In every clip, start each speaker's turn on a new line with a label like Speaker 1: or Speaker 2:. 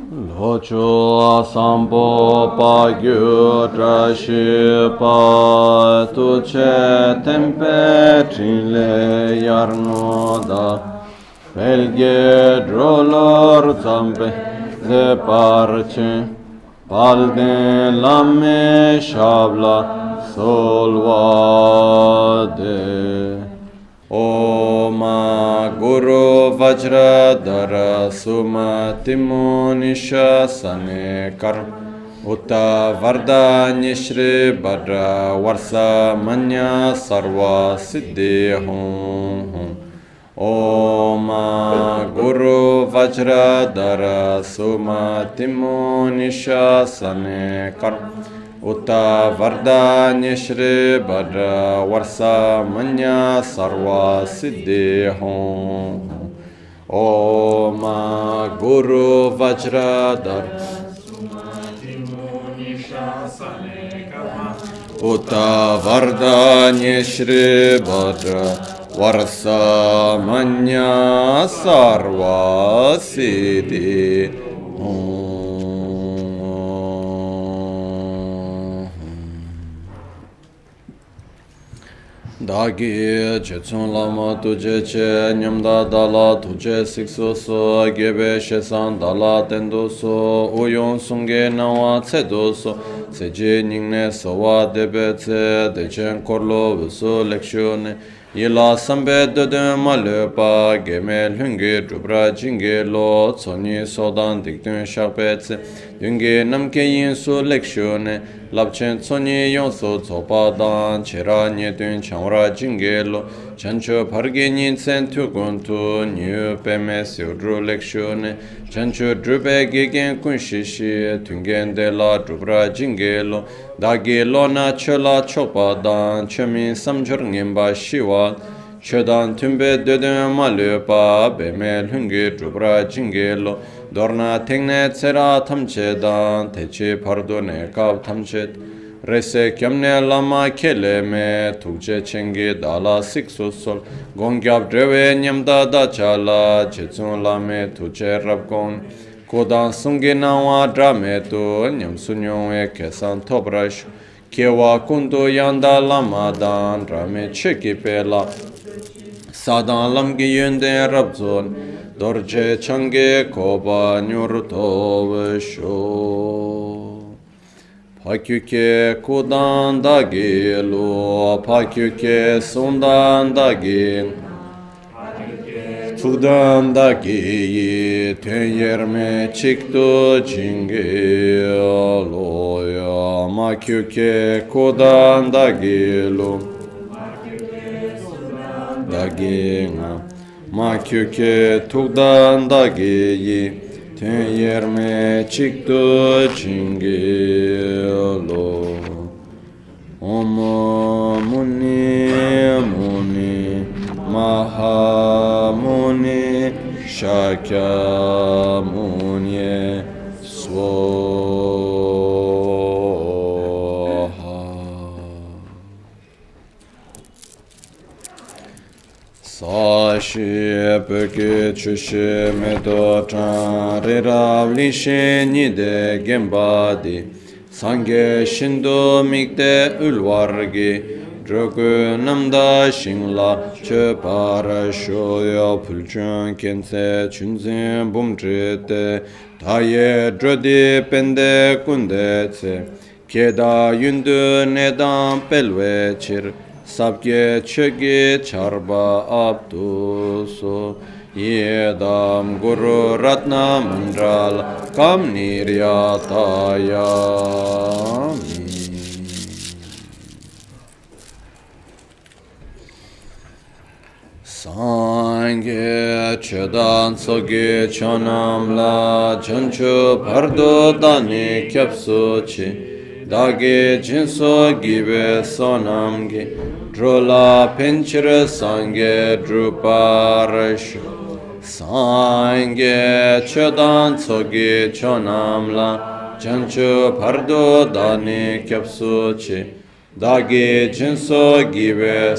Speaker 1: Locho sambo pa gyu trashi pa tu che tempe trile yarno da belge drolor zambe ze parche palde lamme shabla solvade Oma Guru Vajradhara Sumati Munisha Sane Kar Uta Vardanya Shri Bhadra Varsa Manya Sarva Siddhi Hum Oma Guru Vajradhara Sumati Munisha Sane Kar Uta Vardanya Shri Bhadra Varsa Manya Sarva Siddhi Hum Oma Guru Vajradhara Uta Vardanya Shri Bhadra Varsa Manya Sarva Siddhi Hum Dagi Jetsun Lama Tuje Che Nyamda Dala Tuje Sikso So Gebe Shesan Dala Tendo So Uyon Sunge Nawa Tsedo So Seje Ningne Sowa Debe Tse Dechen Korlo Vuso Lekshone Yila Sambe Dede Malepa Gemel Hungi Dubra Jinge Lo Tsoni Sodan Dikdun Shakpe Tse Dungi Namke Yin Su Lekshone Lapchen Tsoni Yonso Tsopa Dan Chera Nyedun Changra Jinge Lo Chancho Parge Nyin Tsen Tukun Tu Nyu Peme Siudru Lekshone Chancho Drube Gigen Kunshishi Tungen De La Dubra Jinge Lo Dagi Lona Chola Chopa Dan Chomin Samjur Ngimba Shiwa Chodan Tumbe Dödön Malupa Bemel Hungi Dubra Jinge Lo Dorna Tengne Tsera Tamche Dan Techi Pardone Kab Tamchet Rese Kyamne Lama Kele Me Tukche Chengi Dala Siksu Sol Gongyab Drewe Nyamda Dachala Chetsun Lame Tuche Rabgon Kodan Sungi Nawa Drame Tu Nyam Sunyong Kesan Tobrash Kewa Kundu Yanda Lama Dan Drame Cheki Pela Sadan Lamgi Yunde Rabzon Dorje Change Koba Nyurto Vesho Pakyuke Kudan Dagi Lo Pakyuke Sundan Dagi Sudan Dagi Tenyerme Chikto Jingi Loya Makyuke Kudan Dagi Lo Dagi Makyuke Tukdan Dagi Tenyerme Chikto Jingi Lo Om Muni Muni Mahamuni Shakyamuni Swaha Sashi Peke Chushe Medo Chan Riravli Nide Gembadi Sange Shindo Mikde Ulvargi Drogu Namda Shingla Che Para Shoya Pulchun Kense Chunzin Bumtrite Taye Drodi Pende Kundetse Keda Yundu Nedan Pelwe Chir Sabke Chegi Charba Abduso Yedam Guru Ratna Mandral Kamniryatayami Sangye Chedan Soge Chonam La Chanchu Pardo Dani Kyapsuchi Dagi Jinso Gibe Sonamgi Drola Pinchira Sangye Druparash Sangye Chedan Soge Chonam La Chanchu Pardo Dani Kyapsuchi Dagi Jinso Gibe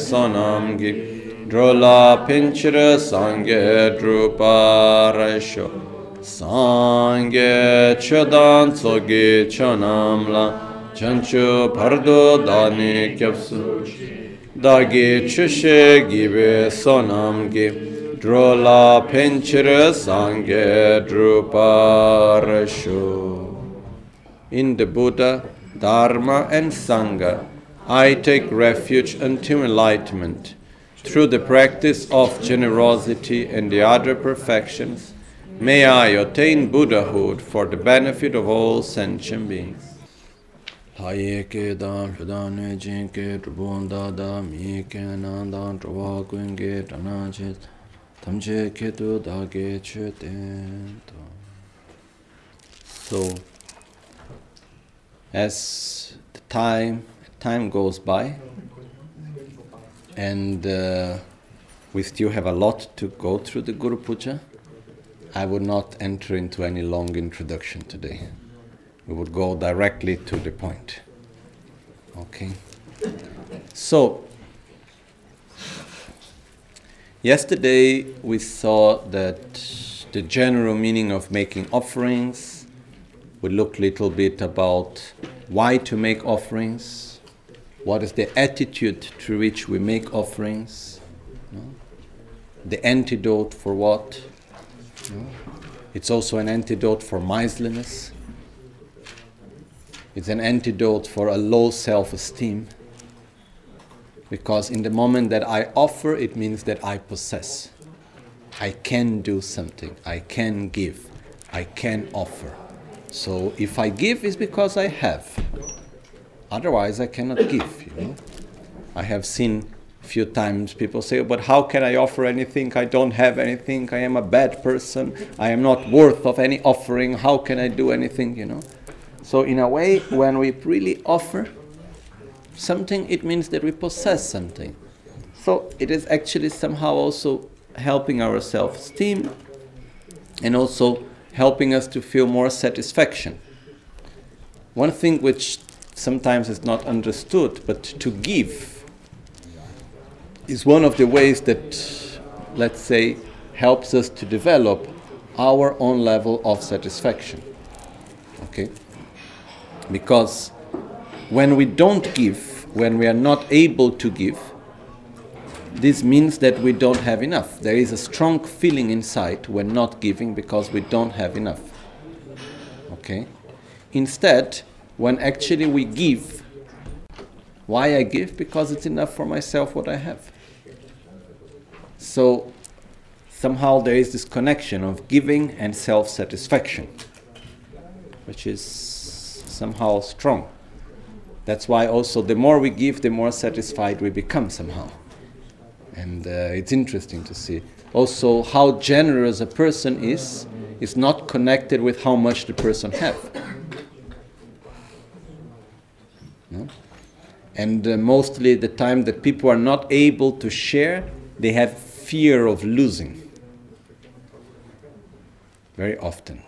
Speaker 1: Sonamgi Drola Pinchira Sangye Druparasho Sangye chodan tsogi chonamla chanchu pardo dani kyapsu dagi chushe gibe sonamgi drola penchire sangye druparashu. In the Buddha, Dharma and Sangha, I take refuge until enlightenment. Through the practice of generosity and the other perfections, may I attain Buddhahood for the benefit of all sentient beings. Hayeke dan hudane jinke trubonda da mike nandan truwa kuenge tanachet tamche ketu dage chutento. So, as the time goes by, and we still have a lot to go through the Guru Puja, I would not enter into any long introduction today. We would go directly to the point. Okay? So, yesterday we saw that the general meaning of making offerings. We looked a little bit about why to make offerings, what is the attitude through which we make offerings, the antidote for what. It's also an antidote for miserliness. It's an antidote for a low self-esteem. Because in the moment that I offer, it means that I possess. I can do something. I can give. I can offer. So if I give, it's because I have. Otherwise, I cannot give, I have seen a few times people say, but how can I offer anything? I don't have anything. I am a bad person. I am not worth of any offering. How can I do anything, So in a way, when we really offer something, it means that we possess something. So it is actually somehow also helping our self-esteem and also helping us to feel more satisfaction. One thing which sometimes is not understood, but to give is one of the ways that, let's say, helps us to develop our own level of satisfaction. Okay? Because when we don't give, when we are not able to give, this means that we don't have enough. There is a strong feeling inside when not giving because we don't have enough. Okay? Instead, when actually we give, why I give? Because it's enough for myself what I have. So, somehow there is this connection of giving and self-satisfaction, which is somehow strong. That's why also the more we give, the more satisfied we become somehow. And it's interesting to see. Also, how generous a person is not connected with how much the person has. No? And mostly the time that people are not able to share, they have fear of losing. Very often.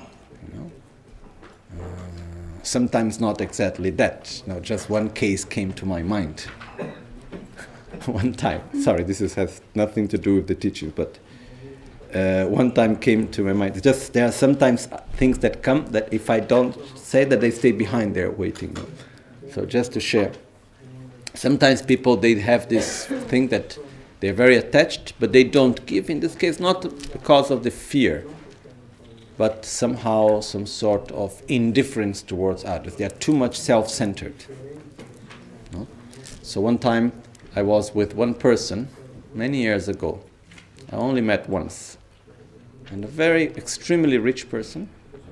Speaker 1: Sometimes not exactly that. No, just one case came to my mind. One time, sorry, has nothing to do with the teaching, but one time came to my mind. Just there are sometimes things that come that if I don't say that, they stay behind there waiting. So just to share. Sometimes people, they have this thing that they're very attached, but they don't give. In this case, not because of the fear, but somehow some sort of indifference towards others. They are too much self-centered. No? So one time I was with one person many years ago. I only met once. And a very extremely rich person.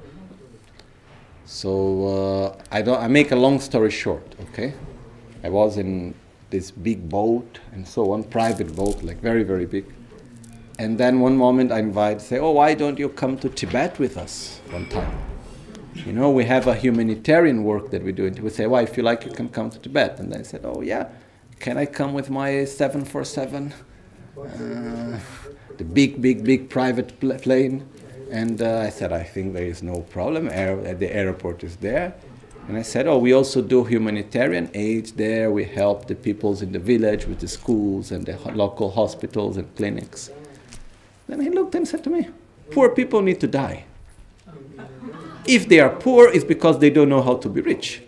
Speaker 1: So I make a long story short, okay? I was in this big boat and so on, private boat, like very, very big. And then one moment I say, oh, why don't you come to Tibet with us one time? We have a humanitarian work that we do. And we say, well, if you like, you can come to Tibet. And I said, oh, yeah, can I come with my 747? The big private plane. And I said, I think there is no problem. The airport is there. And I said, oh, we also do humanitarian aid there. We help the peoples in the village with the schools and the local hospitals and clinics. Then he looked and said to me, poor people need to die.
Speaker 2: If they are poor, it's because they don't know how to be rich.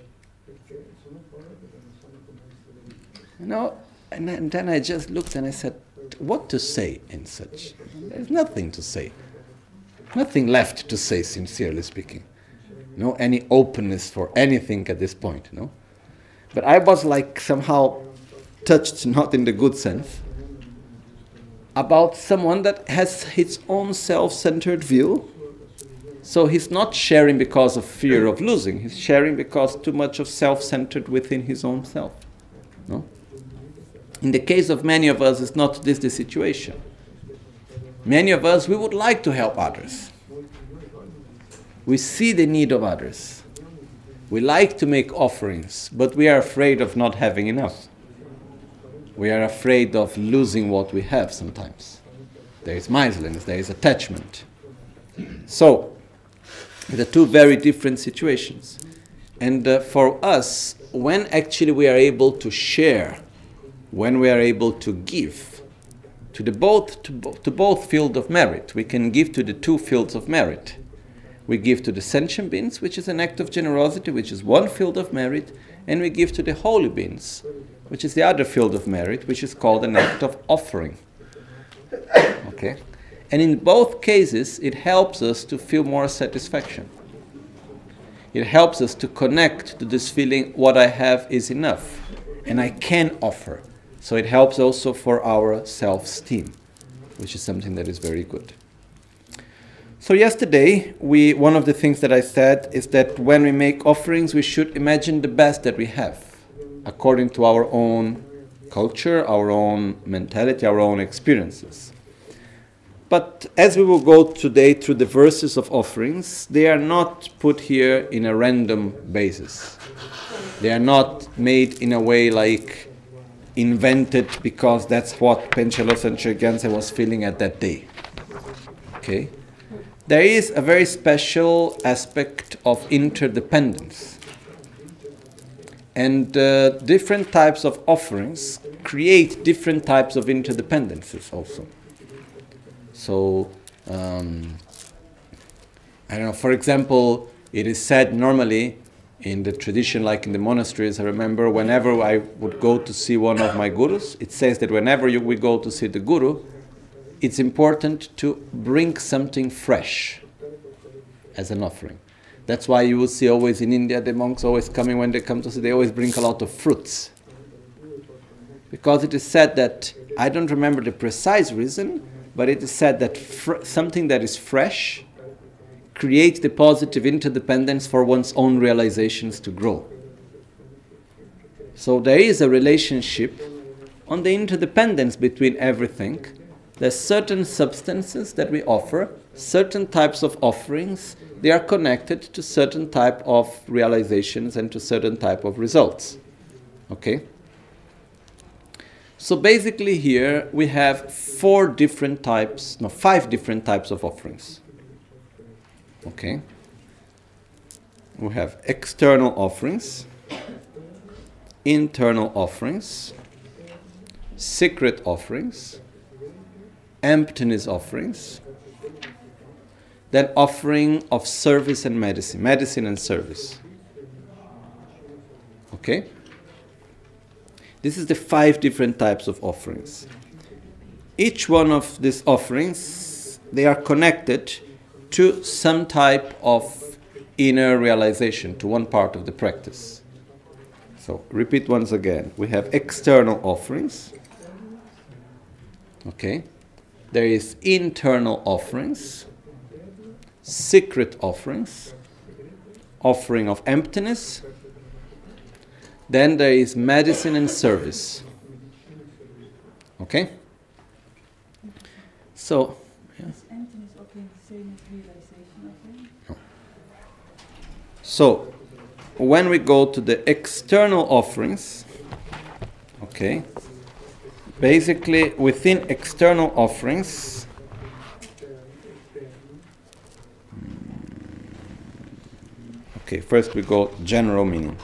Speaker 2: You know, and then I just looked and I said, what to say in such? There's nothing to say. Nothing left to say, sincerely speaking. No, any openness for anything at this point, no? But I was like somehow touched, not in the good sense, about someone that has his own self-centered view. So he's not sharing because of fear of losing. He's sharing because too much of self-centered within his own self. No? In the case of many of us, it's not this the situation. Many of us, we would like to help others. We see the need of others. We like to make offerings, but we are afraid of not having enough. We are afraid of losing what we have sometimes. There is miserliness, there is attachment. So, the two very different situations. And for us, when actually we are able to share, when we are able to give to both fields of merit, we can give to the two fields of merit. We give to the sentient beings, which is an act of generosity, which is one field of merit, and we give to the holy beings, which is the other field of merit, which is called an act of offering. Okay? And in both cases, it helps us to feel more satisfaction. It helps us to connect to this feeling, what I have is enough, and I can offer. So it helps also for our self-esteem, which is something that is very good. So yesterday, one of the things that I said is that when we make offerings, we should imagine the best that we have, according to our own culture, our own mentality, our own experiences. But as we will go today through the verses of offerings, they are not put here in a random basis. They are not made in a way like invented because that's what Panchen Losang Gyaltsen was feeling at that day. Okay? There is a very special aspect of interdependence. And different types of offerings create different types of interdependences also. So, I don't know, for example, it is said normally in the tradition, like in the monasteries, I remember whenever I would go to see one of my gurus, it says that whenever we go to see the guru, it's important to bring something fresh as an offering. That's why you will see always in India, the monks always coming when they come to see, they always bring a lot of fruits. Because it is said that, I don't remember the precise reason, but it is said that something that is fresh creates the positive interdependence for one's own realizations to grow. So there is a relationship on the interdependence between everything. There's certain substances that we offer, certain types of offerings, they are connected to certain type of realizations and to certain type of results. Okay? So basically here we have five different types of offerings. Okay? We have external offerings, internal offerings, secret offerings, emptiness offerings, then offering of service and medicine and service. Okay? This is the 5 different types of offerings. Each one of these offerings, they are connected to some type of inner realization, to one part of the practice. So, repeat once again. We have external offerings. Okay? There is internal offerings, secret offerings, offering of emptiness. Then there is medicine and service. Okay? So, yeah.
Speaker 3: Is emptiness offering the same as realization offering?
Speaker 2: No. So, when we go to the external offerings, okay, basically within external offerings, okay, first we go general meaning.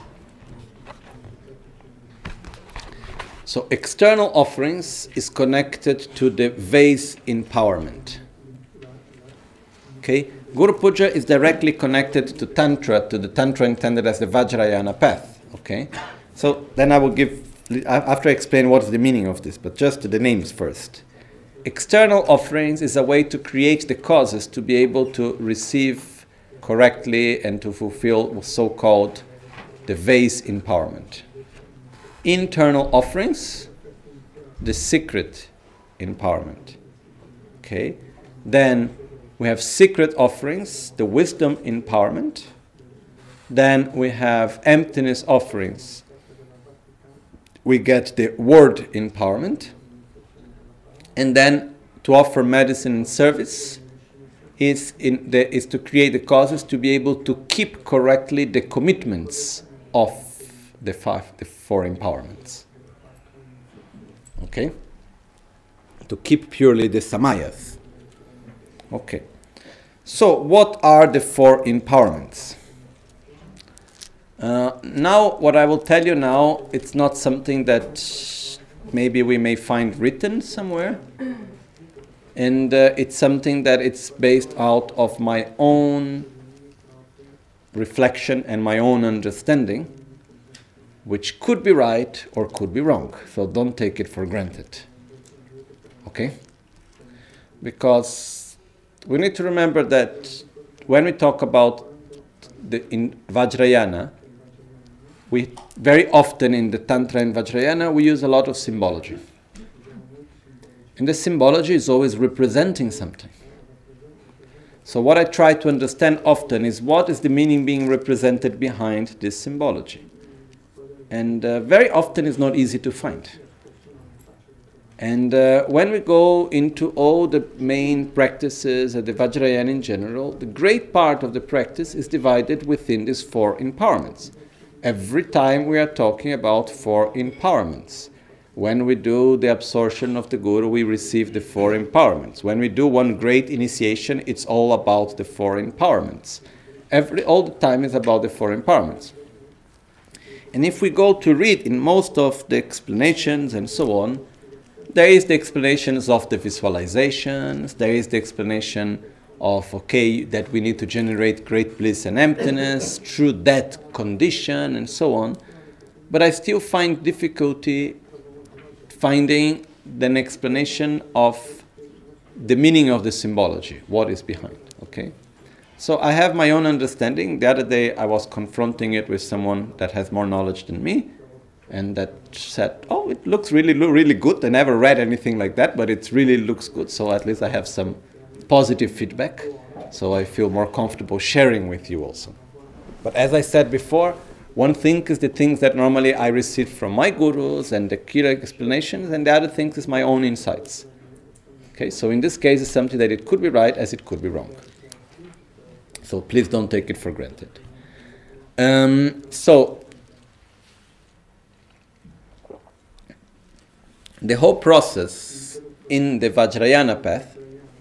Speaker 2: So external offerings is connected to the vase empowerment. Okay? Guru Puja is directly connected to Tantra, to the Tantra intended as the Vajrayana path. Okay? So then I will give, after I explain what's the meaning of this, but just the names first. External offerings is a way to create the causes to be able to receive correctly and to fulfill so-called the vase empowerment. Internal offerings, the secret empowerment. Okay? Then we have secret offerings, the wisdom empowerment. Then we have emptiness offerings. We get the word empowerment. And then to offer medicine and service is to create the causes to be able to keep correctly the commitments of the four empowerments. Okay? To keep purely the samayas. Okay. So what are the four empowerments? Now, what I will tell you now, it's not something that maybe we may find written somewhere. And it's something that it's based out of my own reflection and my own understanding, which could be right or could be wrong. So don't take it for granted. Okay? Because we need to remember that when we talk about in Vajrayana, we very often in the Tantra and Vajrayana, we use a lot of symbology. And the symbology is always representing something. So what I try to understand often is what is the meaning being represented behind this symbology. And very often it's not easy to find. And when we go into all the main practices of the Vajrayana in general, the great part of the practice is divided within these four empowerments. Every time we are talking about four empowerments. When we do the absorption of the Guru, we receive the four empowerments. When we do one great initiation, it's all about the four empowerments. All the time is about the four empowerments. And if we go to read in most of the explanations and so on, there is the explanations of the visualizations, there is the explanation of, okay, that we need to generate great bliss and emptiness through that condition and so on. But I still find difficulty finding an explanation of the meaning of the symbology, what is behind, okay? So I have my own understanding. The other day I was confronting it with someone that has more knowledge than me, and that said, oh, it looks really good. I never read anything like that, but it really looks good. So at least I have some positive feedback, so I feel more comfortable sharing with you also. But as I said before, one thing is the things that normally I receive from my gurus and the clear explanations, and the other thing is my own insights. Okay, so in this case, it's something that it could be right as it could be wrong. So please don't take it for granted. So the whole process in the Vajrayana path,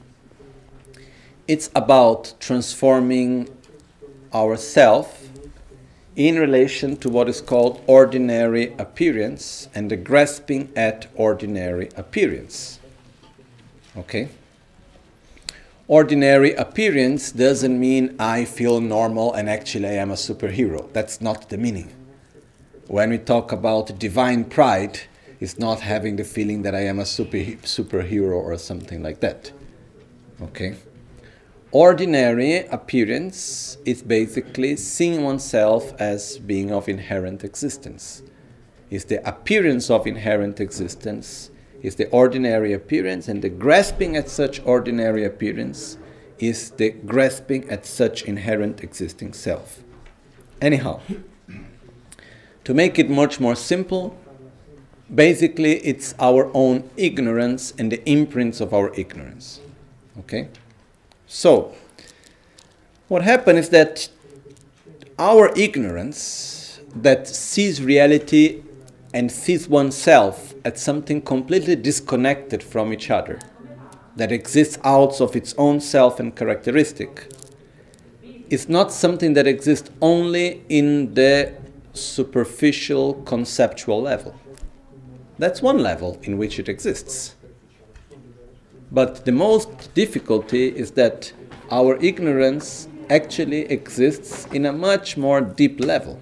Speaker 2: it's about transforming ourself in relation to what is called ordinary appearance and the grasping at ordinary appearance. Okay? Ordinary appearance doesn't mean I feel normal and actually I am a superhero. That's not the meaning. When we talk about divine pride, it's not having the feeling that I am a superhero or something like that. Okay? Ordinary appearance is basically seeing oneself as being of inherent existence. It's the appearance of inherent existence, is the ordinary appearance, and the grasping at such ordinary appearance is the grasping at such inherent existing self. Anyhow, to make it much more simple, basically it's our own ignorance and the imprints of our ignorance. Okay? So, what happened is that our ignorance that sees reality and sees oneself as something completely disconnected from each other, that exists out of its own self and characteristic, is not something that exists only in the superficial conceptual level. That's one level in which it exists. But the most difficulty is that our ignorance actually exists in a much more deep level,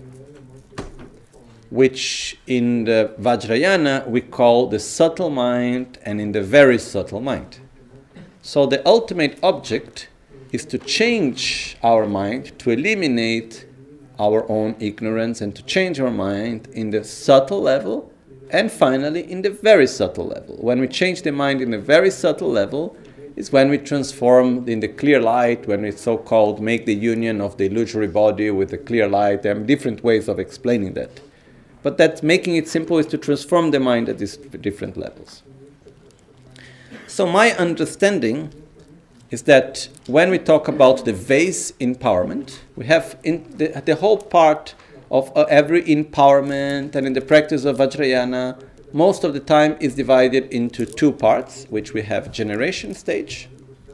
Speaker 2: which in the Vajrayana we call the subtle mind and in the very subtle mind. So the ultimate object is to change our mind, to eliminate our own ignorance and to change our mind in the subtle level and finally in the very subtle level. When we change the mind in the very subtle level is when we transform in the clear light, when we so-called make the union of the illusory body with the clear light. There are different ways of explaining that. But that's making it simple is to transform the mind at these different levels. So my understanding is that when we talk about the vase empowerment, we have in the whole part of every empowerment, and in the practice of Vajrayana, most of the time is divided into two parts, which we have generation stage,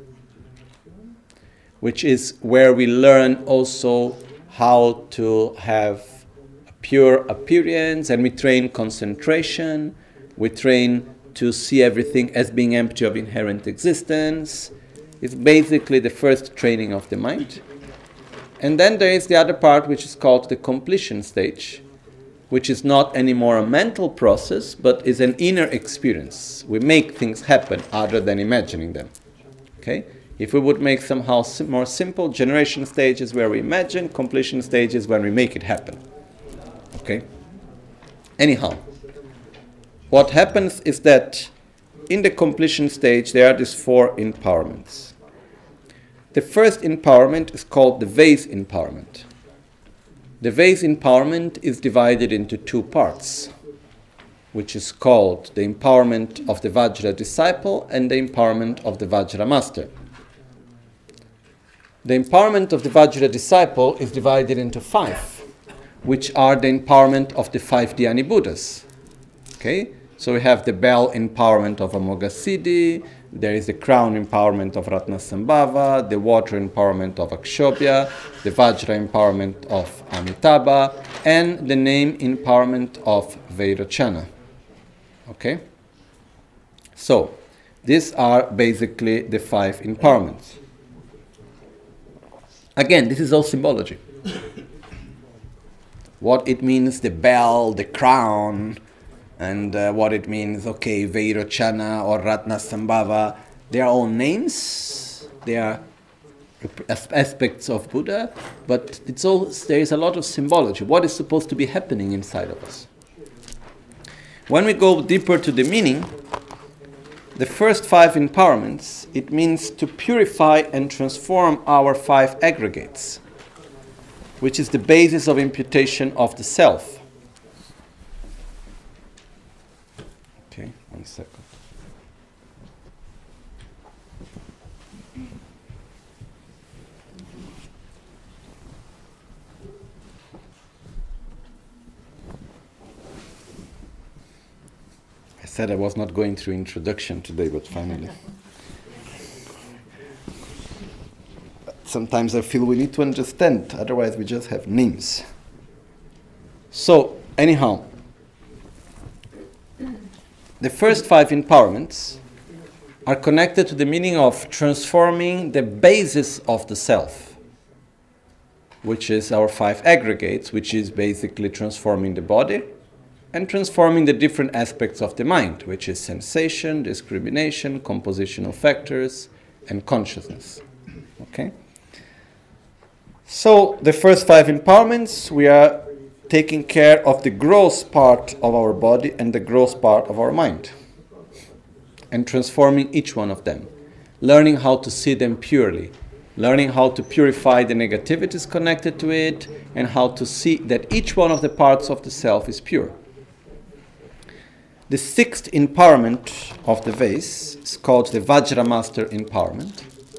Speaker 2: which is where we learn also how to have a pure appearance, and we train concentration, we train to see everything as being empty of inherent existence. It's basically the first training of the mind. And then there is the other part which is called the completion stage, which is not anymore a mental process, but is an inner experience. We make things happen other than imagining them. Okay? If we would make somehow more simple, generation stage is where we imagine, completion stage is when we make it happen. Okay? Anyhow, what happens is that in the completion stage there are these four empowerments. The first empowerment is called the vase empowerment. The vase empowerment is divided into two parts, which is called the empowerment of the Vajra disciple and the empowerment of the Vajra master. The empowerment of the Vajra disciple is divided into five, which are the empowerment of the five Dhyani Buddhas. Okay? So we have the bell empowerment of Amoghasiddhi, there is the crown empowerment of Ratnasambhava, the water empowerment of Akshobhya, the Vajra empowerment of Amitabha, and the name empowerment of Vairocana. Okay? So, these are basically the five empowerments. Again, this is all symbology. What it means, the bell, the crown, and what it means, okay, Vairocana or Ratnasambhava, they are all names, they are aspects of Buddha, but it's all, there is a lot of symbology. What is supposed to be happening inside of us? When we go deeper to the meaning, the first five empowerments, it means to purify and transform our five aggregates, which is the basis of imputation of the self. Okay, 1 second. I said I was not going through introduction today, but finally. Sometimes I feel we need to understand, otherwise we just have names. So, anyhow, the first five empowerments are connected to the meaning of transforming the basis of the self, which is our five aggregates, which is basically transforming the body and transforming the different aspects of the mind, which is sensation, discrimination, compositional factors, and consciousness. Okay? So, the first five empowerments, we are taking care of the gross part of our body and the gross part of our mind, and transforming each one of them, learning how to see them purely, learning how to purify the negativities connected to it, and how to see that each one of the parts of the self is pure. The sixth empowerment of the vase is called the Vajra Master empowerment.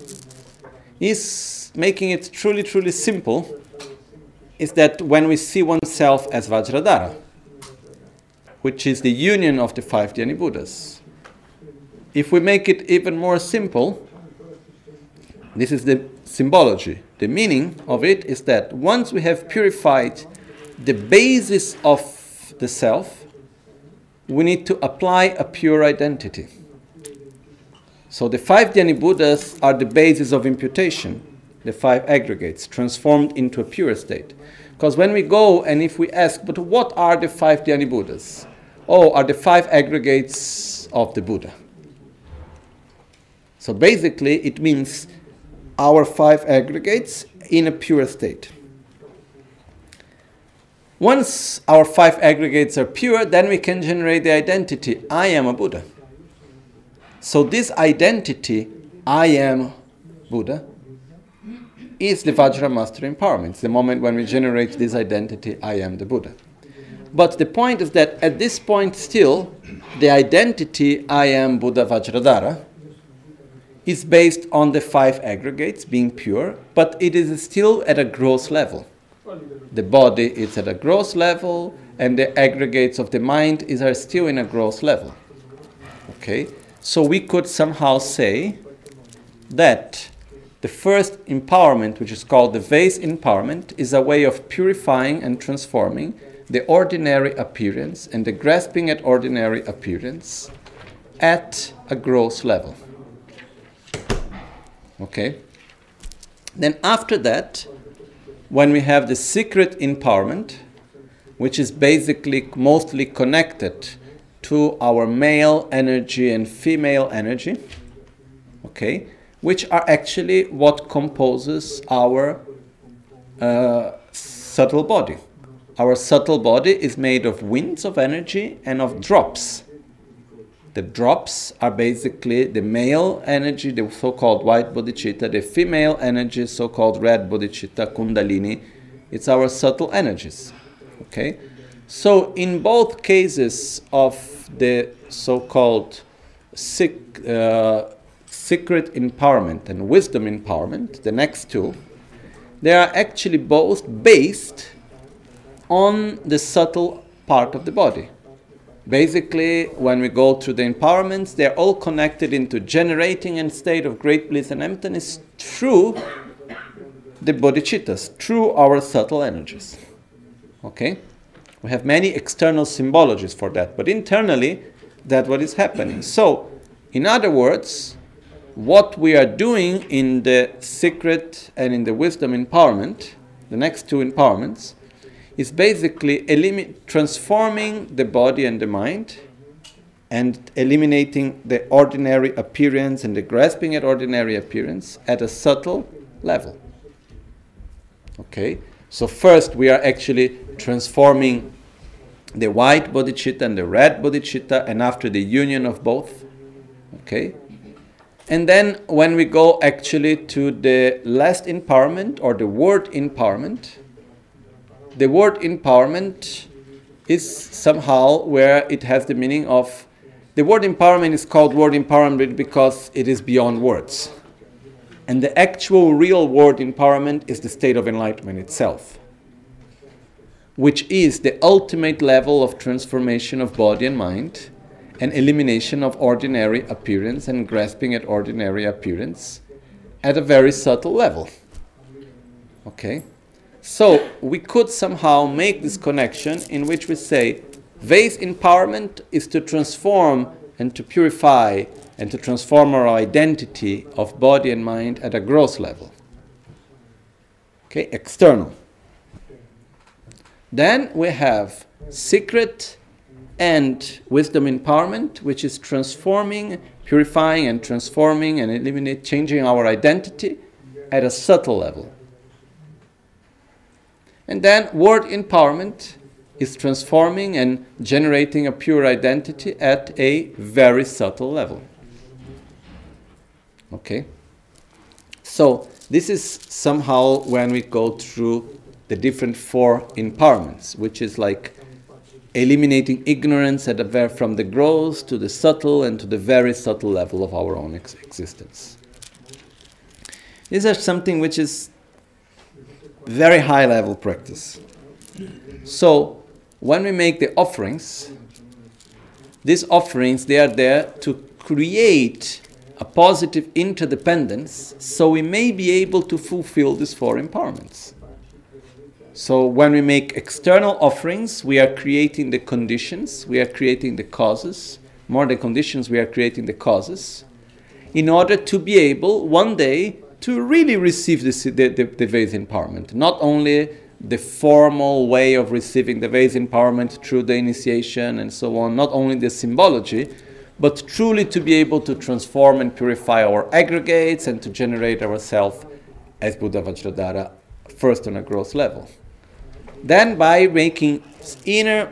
Speaker 2: Is making it truly, truly simple, is that when we see oneself as Vajradhara, which is the union of the five Dhyani Buddhas. If we make it even more simple, this is the symbology. The meaning of it is that once we have purified the basis of the self, we need to apply a pure identity. So the 5 Dhyani Buddhas are the basis of imputation, the 5 aggregates, transformed into a pure state. Because when we go and if we ask, but what are the 5 Dhyani Buddhas? Oh, are the 5 aggregates of the Buddha. So basically it means our 5 aggregates in a pure state. Once our 5 aggregates are pure, then we can generate the identity, I am a Buddha. So this identity, I am Buddha, is the Vajra Master Empowerment. It's the moment when we generate this identity, I am the Buddha. But the point is that at this point still, the identity, I am Buddha Vajradhara, is based on the 5 aggregates being pure, but it is still at a gross level. The body is at a gross level, and the aggregates of the mind are still in a gross level. Okay? So we could somehow say that the first empowerment, which is called the vase empowerment, is a way of purifying and transforming the ordinary appearance and the grasping at ordinary appearance at a gross level. Okay? Then after that, when we have the secret empowerment, which is basically mostly connected to our male energy and female energy, okay, which are actually what composes our subtle body. Our subtle body is made of winds of energy and of drops. The drops are basically the male energy, the so-called white bodhicitta, the female energy, so-called red bodhicitta, kundalini. It's our subtle energies. Okay? So in both cases of the so-called secret empowerment and wisdom empowerment, the next two, they are actually both based on the subtle part of the body. Basically, when we go through the empowerments, they're all connected into generating a state of great bliss and emptiness through the bodhicittas, through our subtle energies. Okay? We have many external symbologies for that, but internally, that's what is happening. So, in other words, what we are doing in the secret and in the wisdom empowerment, the next two empowerments, is basically transforming the body and the mind and eliminating the ordinary appearance and the grasping at ordinary appearance at a subtle level. Okay? So first we are actually transforming the white bodhicitta and the red bodhicitta, and after the union of both. Okay? And then when we go actually to the last empowerment or the word empowerment, the word empowerment is somehow where it has the meaning of, the word empowerment is called word empowerment because it is beyond words. And the actual real word empowerment is the state of enlightenment itself, which is the ultimate level of transformation of body and mind and elimination of ordinary appearance and grasping at ordinary appearance at a very subtle level. Okay? So we could somehow make this connection in which we say vase empowerment is to transform and to purify and to transform our identity of body and mind at a gross level. Okay, external. Then we have secret and wisdom empowerment, which is transforming, purifying and transforming and changing our identity at a subtle level. And then word empowerment is transforming and generating a pure identity at a very subtle level. Okay? So this is somehow when we go through the different 4 empowerments, which is like eliminating ignorance from the gross to the subtle and to the very subtle level of our own existence. These are something which is very high level practice. So when we make the offerings, these offerings, they are there to create a positive interdependence so we may be able to fulfill these 4 empowerments. So when we make external offerings, we are creating the conditions, we are creating the causes. More than conditions, we are creating the causes in order to be able one day to really receive the Vedic empowerment. Not only the formal way of receiving the Vedic empowerment through the initiation and so on, not only the symbology, but truly to be able to transform and purify our aggregates and to generate ourselves as Buddha Vajradhara, first on a gross level. Then by making inner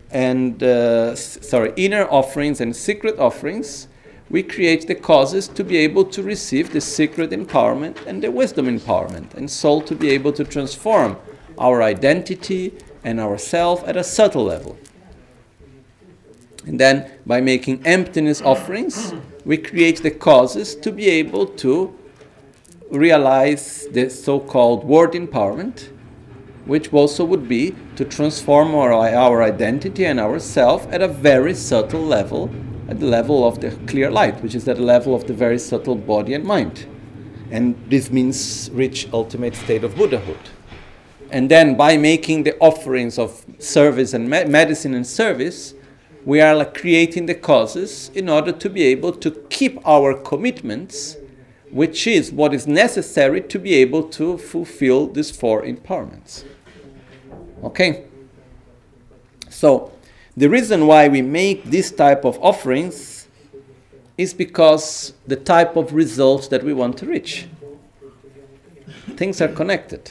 Speaker 2: offerings and secret offerings, we create the causes to be able to receive the secret empowerment and the wisdom empowerment, and soul to be able to transform our identity and ourself at a subtle level. And then by making emptiness offerings, we create the causes to be able to realize the so-called word empowerment, which also would be to transform our identity and ourself at a very subtle level, at the level of the clear light, which is at the level of the very subtle body and mind. And this means reach ultimate state of Buddhahood. And then by making the offerings of service and medicine and service, we are creating the causes in order to be able to keep our commitments, which is what is necessary to be able to fulfill these four empowerments. Okay? So, the reason why we make this type of offerings is because the type of results that we want to reach. Things are connected.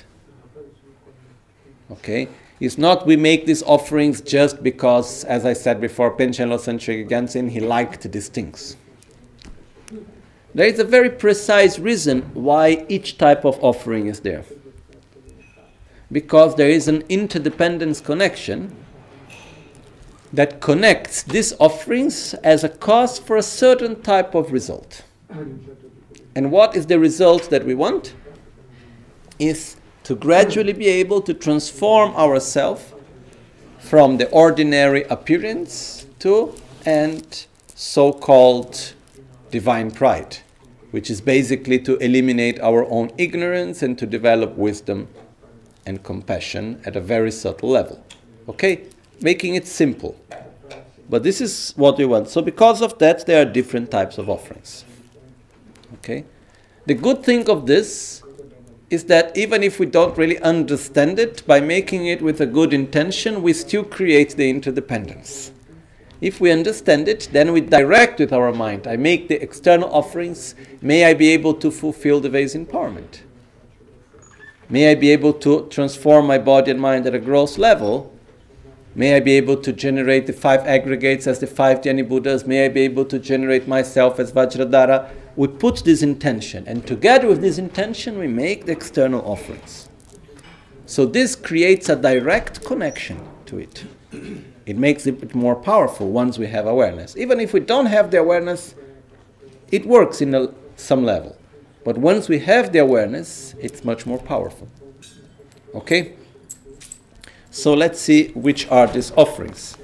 Speaker 2: Okay? It's not we make these offerings just because, as I said before, Panchen Losang Chökyi Gyaltsen, he liked these things. There is a very precise reason why each type of offering is there. Because there is an interdependence connection that connects these offerings as a cause for a certain type of result. And what is the result that we want? Is to gradually be able to transform ourselves from the ordinary appearance to and so-called divine pride, which is basically to eliminate our own ignorance and to develop wisdom and compassion at a very subtle level. Okay? Making it simple. But this is what we want. So because of that, there are different types of offerings. Okay? The good thing of this is that even if we don't really understand it, by making it with a good intention, we still create the interdependence. If we understand it, then we direct with our mind. I make the external offerings. May I be able to fulfill the Vedic empowerment. May I be able to transform my body and mind at a gross level. May I be able to generate the 5 aggregates as the 5 Dhyani Buddhas. May I be able to generate myself as Vajradhara. We put this intention, and together with this intention, we make the external offerings. So this creates a direct connection to it. It makes it more powerful once we have awareness. Even if we don't have the awareness, it works in some level. But once we have the awareness, it's much more powerful. Okay? So let's see which are these offerings.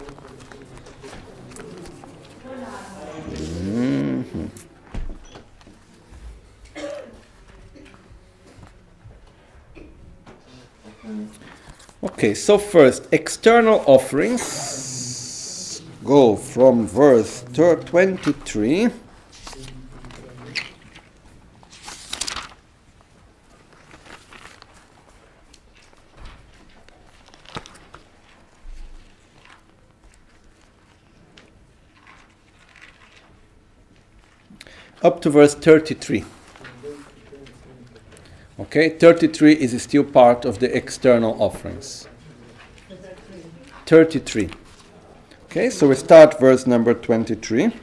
Speaker 2: Mm-hmm. Okay, so first, external offerings go from verse 23. Up to verse 33. Okay, 33 is still part of the external offerings. 33. Okay, so we start verse number 23,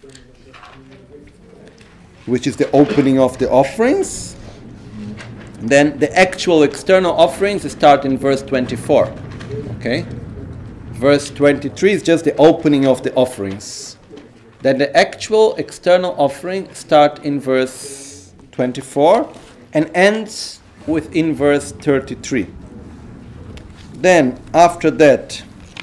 Speaker 2: which is the opening of the offerings. Then the actual external offerings start in verse 24. Okay, verse 23 is just the opening of the offerings. Then the actual external offering start in verse 24 and ends within verse 33. Then after that,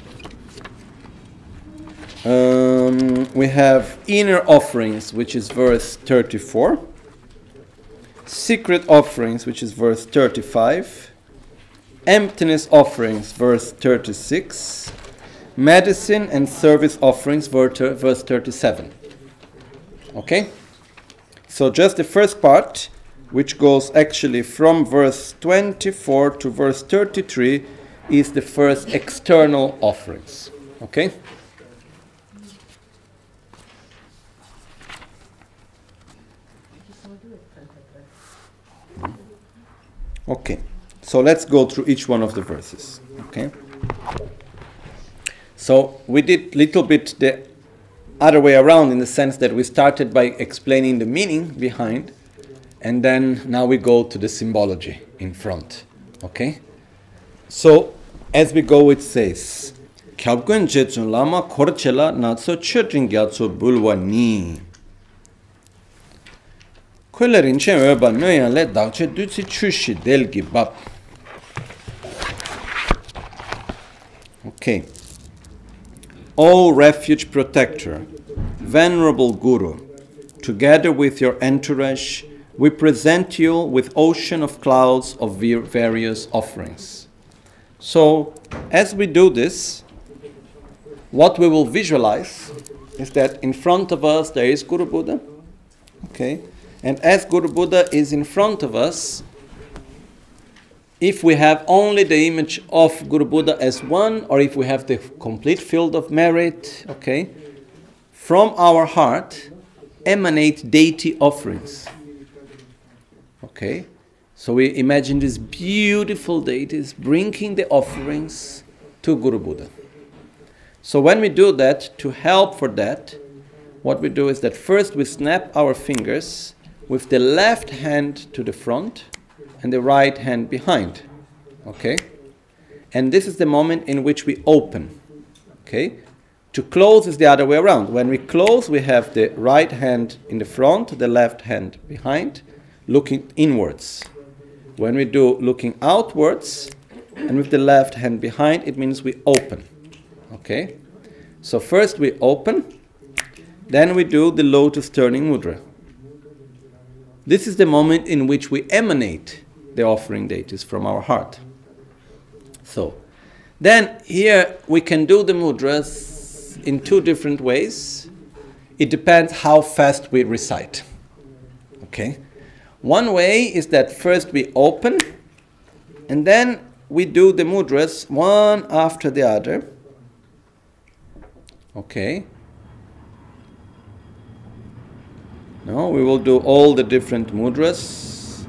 Speaker 2: we have inner offerings, which is verse 34. Secret offerings, which is verse 35. Emptiness offerings, verse 36. Medicine and service offerings, verse 37. Okay? So just the first part, which goes actually from verse 24 to verse 33, is the first external offerings. Okay? Okay, so let's go through each one of the verses. Okay? So we did little bit the other way around in the sense that we started by explaining the meaning behind, and then now we go to the symbology in front. Okay? So as we go, it says, "Kyabgun jetsun lama korchela natso chötrin gyatso bulwa ni." Kulerin chen öba nöyan le dagche dutsi chushi delgi bab. Okay. O refuge protector, venerable Guru, together with your entourage, we present you with ocean of clouds of various offerings. So, as we do this, what we will visualize is that in front of us there is Guru Buddha. Okay? And as Guru Buddha is in front of us, if we have only the image of Guru Buddha as one, or if we have the complete field of merit, okay, from our heart emanate deity offerings. Okay? So we imagine these beautiful deities bringing the offerings to Guru Buddha. So when we do that, to help for that, what we do is that first we snap our fingers with the left hand to the front and the right hand behind. Okay? And this is the moment in which we open. Okay? To close is the other way around. When we close, we have the right hand in the front, the left hand behind, looking inwards. When we do looking outwards, and with the left hand behind, it means we open. Okay? So first we open, then we do the lotus turning mudra. This is the moment in which we emanate the offering deities from our heart. So, then here we can do the mudras in two different ways. It depends how fast we recite. Okay? One way is that first we open, and then we do the mudras one after the other. Okay? Now we will do all the different mudras.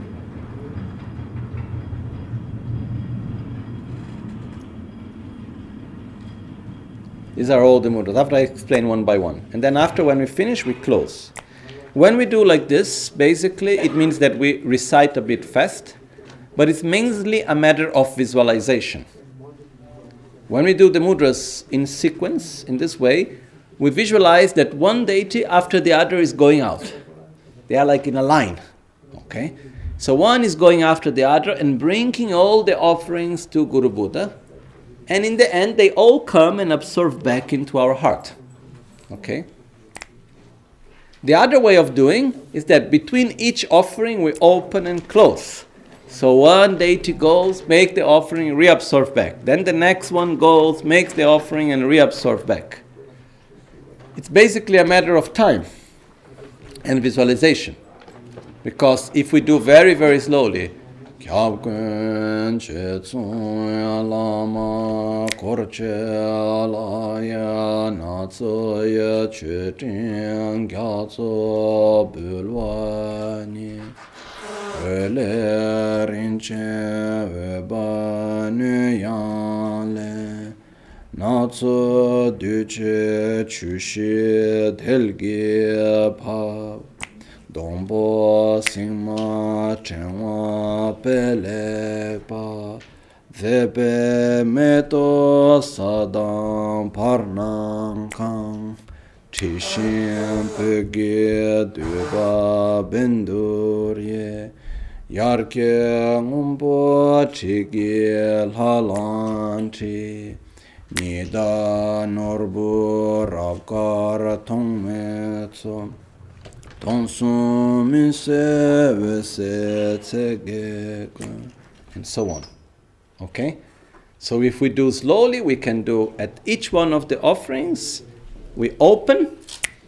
Speaker 2: These are all the mudras. After I explain one by one. And then after, when we finish, we close. When we do like this, basically it means that we recite a bit fast, but it's mainly a matter of visualization. When we do the mudras in sequence, in this way, we visualize that one deity after the other is going out. They are like in a line. Okay? So one is going after the other and bringing all the offerings to Guru Buddha. And in the end, they all come and absorb back into our heart. Okay? The other way of doing is that between each offering, we open and close. So one deity goes, make the offering, reabsorb back. Then the next one goes, makes the offering, and reabsorb back. It's basically a matter of time and visualization. Because if we do very, very slowly, Natso duce chushi delgi pa Dombo singma chenwa pele pa Zebe meto sadam parnang kang Tishin pegi duba bendurye Yarke ngumbo chigi lalanchi Nida norbu rabkar tongmetso Tongsu minse vese tsegeko and so on. Okay? So if we do slowly, we can do at each one of the offerings, we open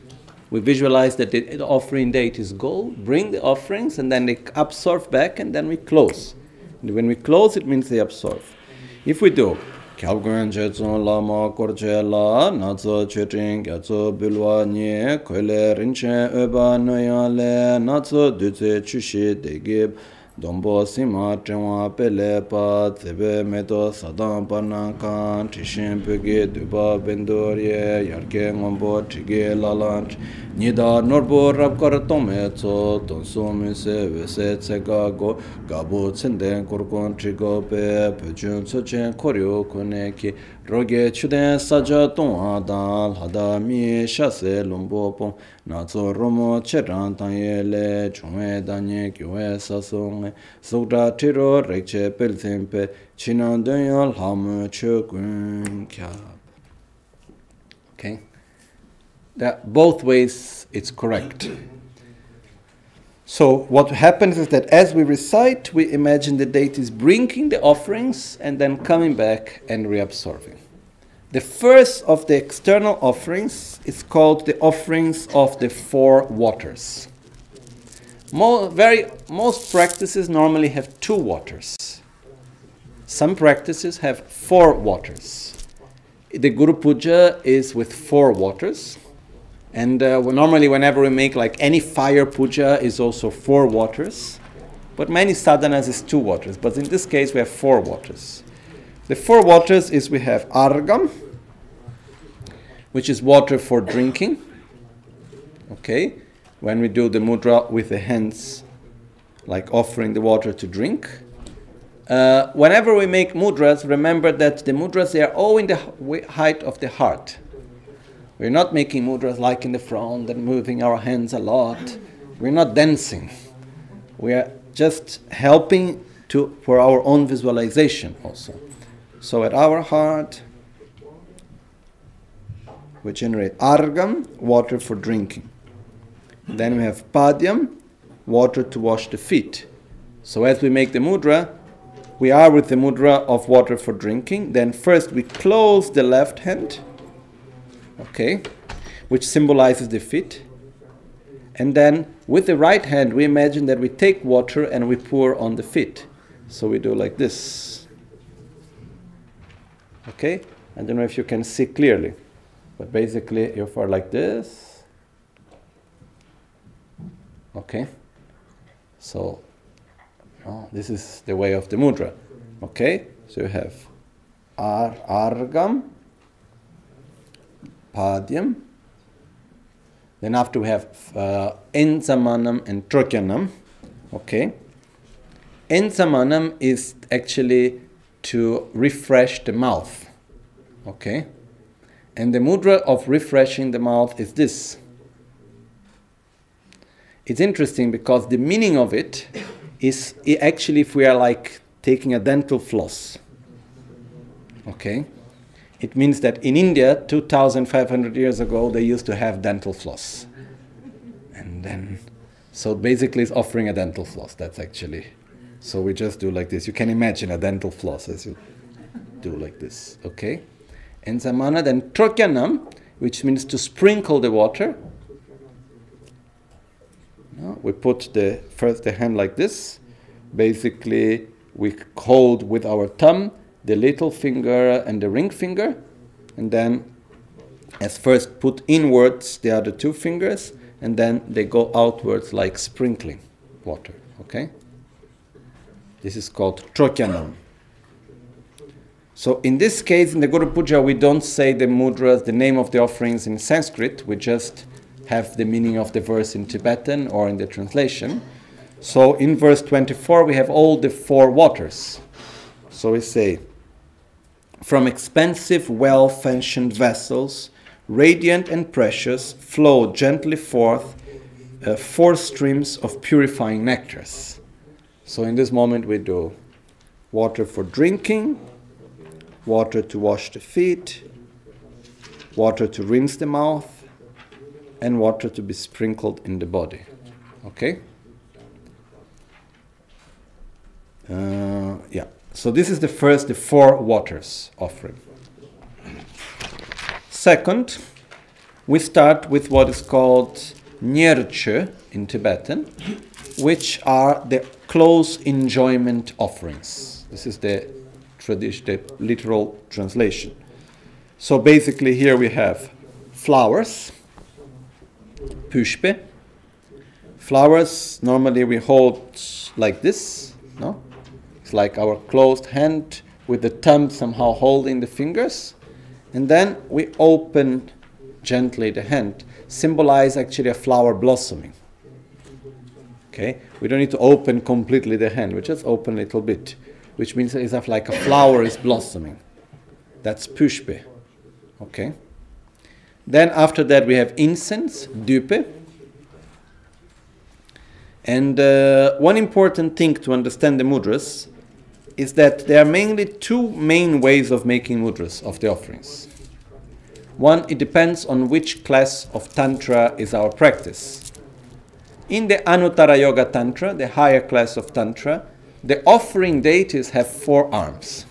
Speaker 2: We visualize that the offering deities go, bring the offerings, and then they absorb back, and then we close. And when we close, it means they absorb. If we do, Kyabguen Jetsun Lama Korche La, Natso Cheting, Gyatso Bilwa Nye, Koile Rinchen Eba Noya Le, Natso Dutse Chushi Degib, Dombo Sima Chenwa Pele Pa, Tsebe Meto Sadam Panakan, Tishin Pege Duba Bendorye, Yarke Ngombo Tige Lalanch, Nida Norbo Rabkar Tometso, Tonso Mise Vese Tsegago, Gabo Tsenden Korkon Trigope, Pechun Sochen Koryo Koneki, Roge Chuden Saja Ton Adal, Hadami Shase Lumbo Pong, Natso Romo Cheran Tanyele, Chungwe Danye Kyue Sasong, Sogda Tiro Rekche Pelzimpe, Chinan Danyal Hamu Chukun Kyab. Okay? That both ways it's correct. So what happens is that as we recite, we imagine the deities bringing the offerings and then coming back and reabsorbing. The first of the external offerings is called the offerings of the four waters. Most practices normally have 2 waters. Some practices have 4 waters. The Guru Puja is with 4 waters. And normally whenever we make like any fire puja is also 4 waters. But many sadhanas is 2 waters. But in this case we have 4 waters. The 4 waters is we have argam, which is water for drinking. Okay? When we do the mudra with the hands, like offering the water to drink. Whenever we make mudras, remember that the mudras, they are all in the height of the heart. We're not making mudras like in the front and moving our hands a lot. We're not dancing. We are just helping for our own visualization also. So at our heart, we generate argam, water for drinking. Then we have padyam, water to wash the feet. So as we make the mudra, we are with the mudra of water for drinking. Then first we close the left hand, okay, which symbolizes the feet. And then with the right hand, we imagine that we take water and we pour on the feet. So we do like this. Okay? I don't know if you can see clearly, but basically you are like this. Okay? So, this is the way of the mudra. Okay? So you have argam, padyam. Then after we have enzamanam and trokyanam. Okay? Enzamanam is actually to refresh the mouth. Okay? And the mudra of refreshing the mouth is this. It's interesting because the meaning of it is actually if we are like taking a dental floss. Okay? It means that in India, 2,500 years ago, they used to have dental floss. And then, so basically it's offering a dental floss. That's actually, so we just do like this. You can imagine a dental floss as you do like this, okay? And samana, then trokyanam, which means to sprinkle the water. No, we put first the hand like this. Basically, we hold with our thumb the little finger and the ring finger, and then as first put inwards the other 2 fingers, and then they go outwards like sprinkling water, okay? This is called trokyanam. So in this case, in the Guru Puja, we don't say the mudras, the name of the offerings in Sanskrit, we just have the meaning of the verse in Tibetan or in the translation. So in verse 24, we have all the 4 waters. So we say, from expensive, well-fashioned vessels, radiant and precious, flow gently forth 4 streams of purifying nectars. So in this moment we do water for drinking, water to wash the feet, water to rinse the mouth, and water to be sprinkled in the body. Okay? Yeah. So this is the 4 waters offering. Second, we start with what is called nyerche in Tibetan, which are the close enjoyment offerings. This is the literal translation. So basically here we have flowers, pushpe. Flowers normally we hold like this, no? It's like our closed hand with the thumb somehow holding the fingers. And then we open gently the hand, symbolize actually a flower blossoming. Okay? We don't need to open completely the hand, we just open a little bit, which means it's like a flower is blossoming. That's pushpe. Okay? Then after that we have incense, dupe. And one important thing to understand the mudras is that there are mainly two main ways of making mudras of the offerings. One, it depends on which class of Tantra is our practice. In the Anuttara Yoga Tantra, the higher class of Tantra, the offering deities have 4 arms.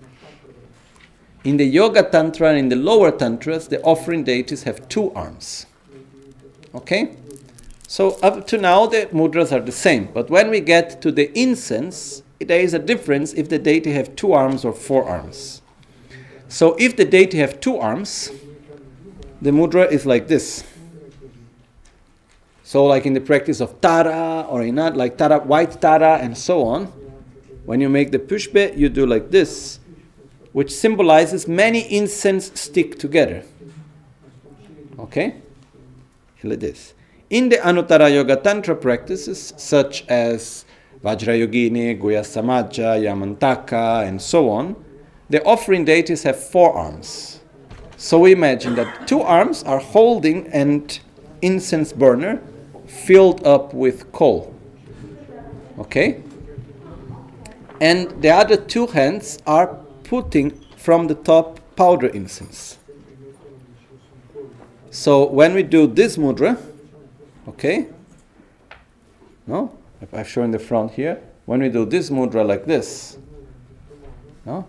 Speaker 2: In the Yoga Tantra and in the lower Tantras, the offering deities have 2 arms. Okay? So up to now, the mudras are the same. But when we get to the incense, there is a difference if the deity have 2 arms or 4 arms. So if the deity have 2 arms, the mudra is like this. So like in the practice of Tara or in like Tara, white Tara and so on, when you make the pushpe, you do like this, which symbolizes many incense stick together. Okay? Like this. In the Anuttara Yoga Tantra practices, such as Vajrayogini, Guhya Samaja, Yamantaka, and so on, the offering deities have 4 arms. So we imagine that 2 arms are holding an incense burner filled up with coal. Okay? And the other 2 hands are putting from the top powder incense. So when we do this mudra, okay? No? I've shown the front here. When we do this mudra like this, no?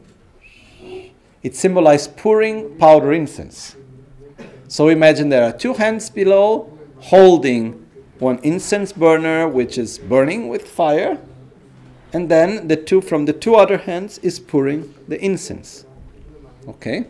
Speaker 2: It symbolizes pouring powder incense. So imagine there are 2 hands below holding one incense burner which is burning with fire, and then the 2 from the 2 other hands is pouring the incense. Okay?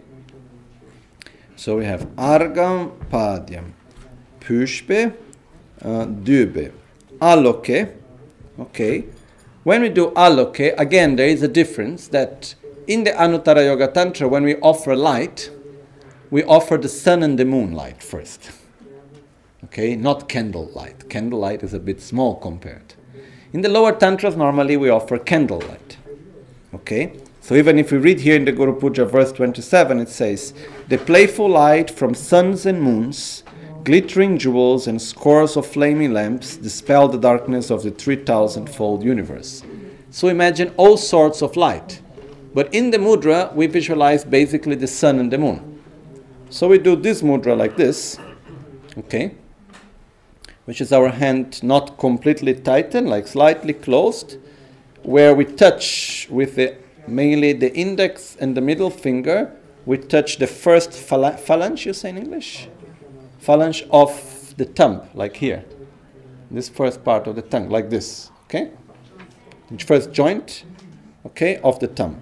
Speaker 2: So we have Argam, Padyam, Pushpe, Dube, Aloke. Okay. When we do Aloke, again there is a difference that in the Anuttara Yoga Tantra, when we offer light, we offer the sun and the moon light first. Okay, not candle light. Candle light is a bit small compared. In the lower Tantras, normally we offer candle light. Okay, so even if we read here in the Guru Puja verse 27, it says, the playful light from suns and moons, glittering jewels and scores of flaming lamps dispel the darkness of the 3,000-fold universe. So imagine all sorts of light. But in the mudra, we visualize basically the sun and the moon. So we do this mudra like this, okay, which is our hand not completely tightened, like slightly closed, where we touch with mainly the index and the middle finger, we touch the first phalange, you say in English? Phalange of the thumb, like here. This first part of the tongue, like this, okay? First joint, okay, of the thumb.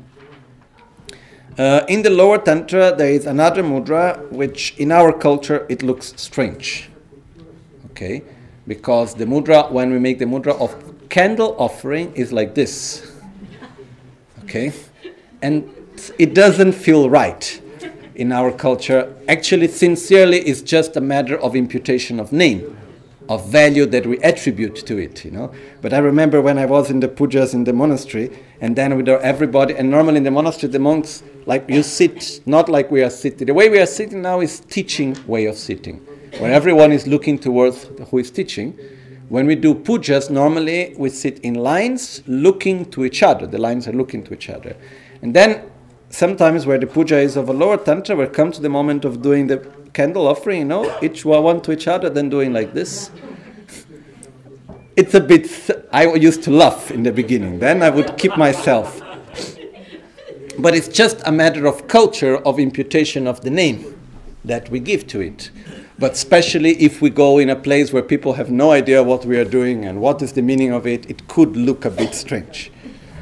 Speaker 2: In the lower Tantra, there is another mudra, which in our culture, it looks strange. Okay? Because the mudra, when we make the mudra of candle offering, is like this. Okay? And it doesn't feel right in our culture. Actually, sincerely, it's just a matter of imputation of name, of value that we attribute to it, you know. But I remember when I was in the pujas in the monastery, and then with everybody, and normally in the monastery, the monks, like you sit, not like we are sitting. The way we are sitting now is teaching way of sitting, where everyone is looking towards who is teaching. When we do pujas, normally we sit in lines looking to each other. The lines are looking to each other. And then sometimes where the puja is of a lower Tantra, we come to the moment of doing the candle offering, you know, each one to each other, then doing like this. It's a bit, I used to laugh in the beginning, then I would keep myself. But it's just a matter of culture, of imputation of the name. that we give to it. But especially if we go in a place where people have no idea what we are doing and what is the meaning of it, it could look a bit strange.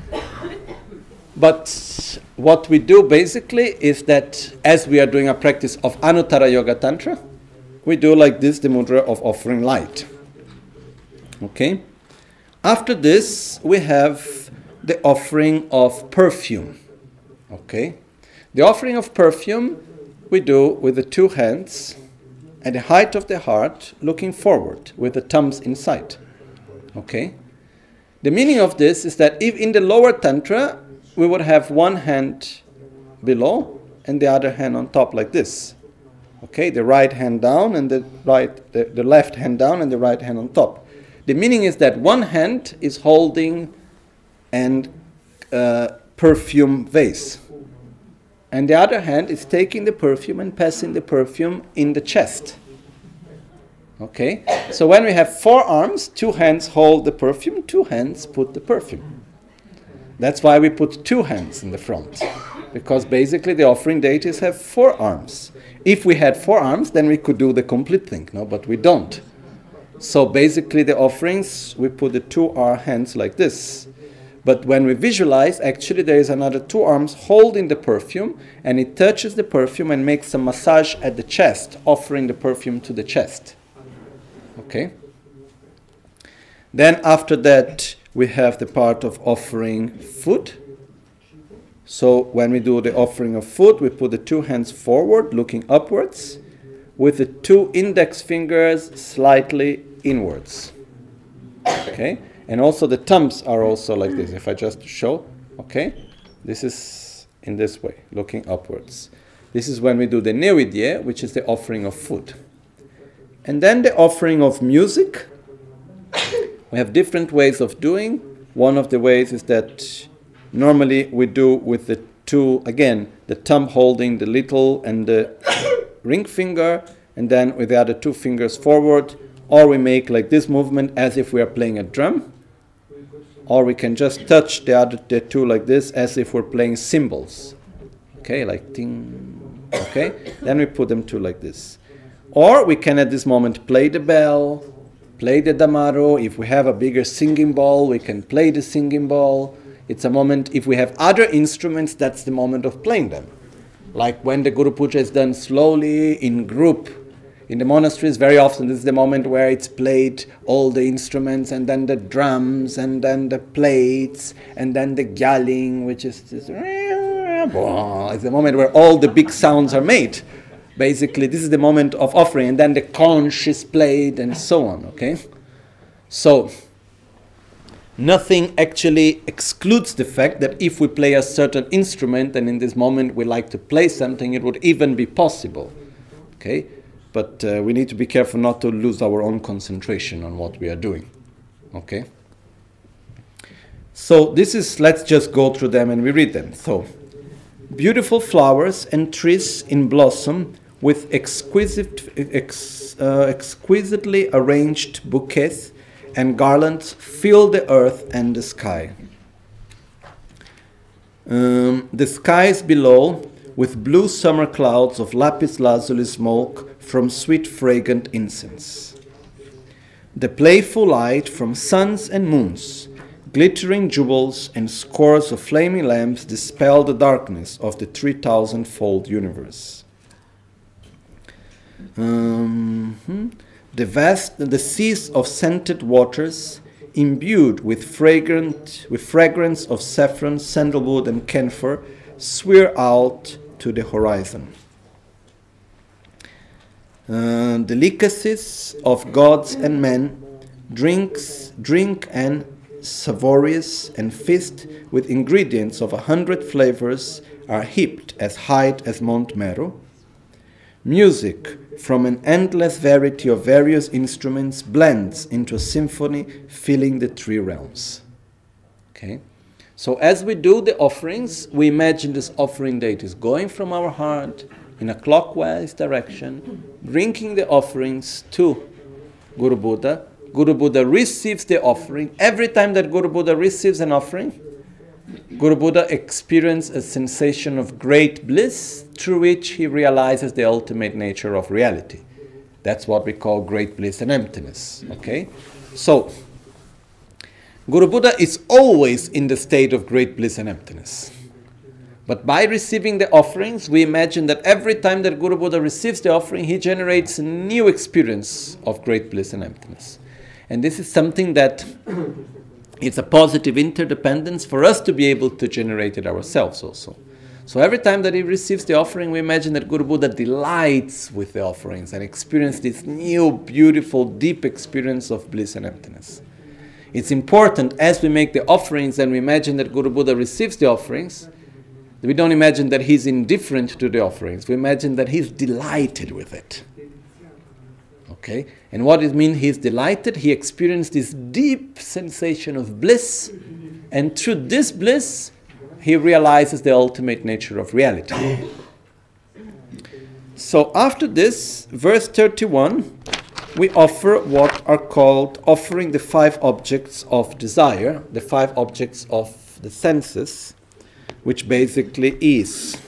Speaker 2: But what we do basically is that as we are doing a practice of Anuttara Yoga Tantra, we do like this, the mudra of offering light. Okay? After this, we have the offering of perfume. Okay? The offering of perfume we do with the two hands at the height of the heart, looking forward, with the thumbs inside. Okay? The meaning of this is that if in the lower tantra, we would have one hand below and the other hand on top like this. Okay? The right hand down and the left hand down and the right hand on top. The meaning is that one hand is holding an perfume vase. And the other hand is taking the perfume and passing the perfume in the chest. Okay? So when we have four arms, two hands hold the perfume, two hands put the perfume. That's why we put two hands in the front. Because basically the offering deities have four arms. If we had four arms, then we could do the complete thing, no? But we don't. So basically the offerings, we put the two hands like this. But when we visualize, actually there is another two arms holding the perfume, and it touches the perfume and makes a massage at the chest, offering the perfume to the chest. Okay? Then after that, we have the part of offering food. So when we do the offering of food, we put the two hands forward, looking upwards, with the two index fingers slightly inwards. Okay? And also the thumbs are also like this. If I just show, okay? This is in this way, looking upwards. This is when we do the Nevidye, which is the offering of food. And then the offering of music. We have different ways of doing. One of the ways is that normally we do with the two, again, the thumb holding the little and the ring finger, and then with the other two fingers forward, or we make like this movement as if we are playing a drum, or we can just touch the two like this as if we're playing cymbals. Okay, like ting. Okay, then we put them two like this. Or we can at this moment play the bell, play the damaro. If we have a bigger singing bowl, we can play the singing bowl. It's a moment, if we have other instruments, that's the moment of playing them. Like when the Guru Puja is done slowly, in group. In the monasteries, very often this is the moment where it's played, all the instruments, and then the drums, and then the plates, and then the gyaling, which is this, it's the moment where all the big sounds are made. Basically, this is the moment of offering, and then the conch is played, and so on, okay? So, nothing actually excludes the fact that if we play a certain instrument, and in this moment we like to play something, it would even be possible, okay? But we need to be careful not to lose our own concentration on what we are doing. Okay? So this is, let's just go through them and we read them. So, beautiful flowers and trees in blossom with exquisitely arranged bouquets and garlands fill the earth and the sky. The skies below with blue summer clouds of lapis lazuli smoke from sweet fragrant incense. The playful light from suns and moons, glittering jewels and scores of flaming lamps dispel the darkness of the 3,000-fold universe. The seas of scented waters, imbued with fragrance of saffron, sandalwood, and camphor, swear out to the horizon. Delicacies of gods and men, drink and savorious and feast with ingredients of 100 flavors are heaped as high as Mount Meru. Music from an endless variety of various instruments blends into a symphony filling the three realms. Okay? So as we do the offerings, we imagine this offering deity is going from our heart in a clockwise direction, bringing the offerings to Guru Buddha. Guru Buddha receives the offering. Every time that Guru Buddha receives an offering, Guru Buddha experienced a sensation of great bliss through which he realizes the ultimate nature of reality. That's what we call great bliss and emptiness. Okay? So, Guru Buddha is always in the state of great bliss and emptiness. But by receiving the offerings, we imagine that every time that Guru Buddha receives the offering, he generates a new experience of great bliss and emptiness. And this is something that it's a positive interdependence for us to be able to generate it ourselves also. So every time that he receives the offering, we imagine that Guru Buddha delights with the offerings and experiences this new, beautiful, deep experience of bliss and emptiness. It's important as we make the offerings and we imagine that Guru Buddha receives the offerings, we don't imagine that he's indifferent to the offerings. We imagine that he's delighted with it. Okay? And what it means he's delighted, he experienced this deep sensation of bliss, and through this bliss, he realizes the ultimate nature of reality. So after this, verse 31, we offer what are called offering the 5 objects of desire, the 5 objects of the senses, which basically is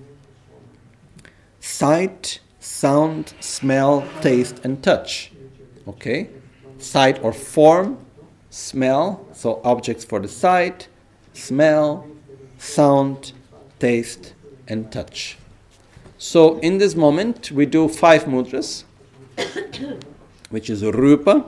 Speaker 2: sight, sound, smell, taste, and touch. Okay? Sight or form, smell, so objects for the sight, smell, sound, taste, and touch. So in this moment, we do 5 mudras, which is rupa.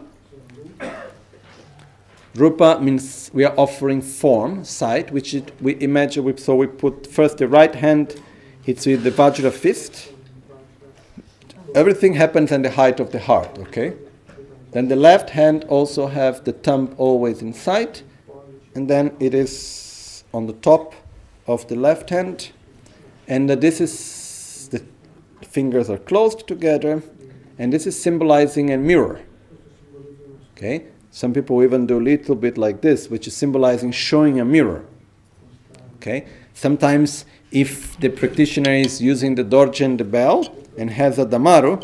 Speaker 2: Rupa means we are offering form, sight, which we imagine, so we put first the right hand hits with the Vajra fist. Everything happens in the height of the heart, okay? Then the left hand also have the thumb always in sight, and then it is on the top of the left hand, and this is, the fingers are closed together, and this is symbolizing a mirror, okay? Some people even do a little bit like this, which is symbolizing showing a mirror. Okay? Sometimes if the practitioner is using the dorje, the bell, and has a damaru,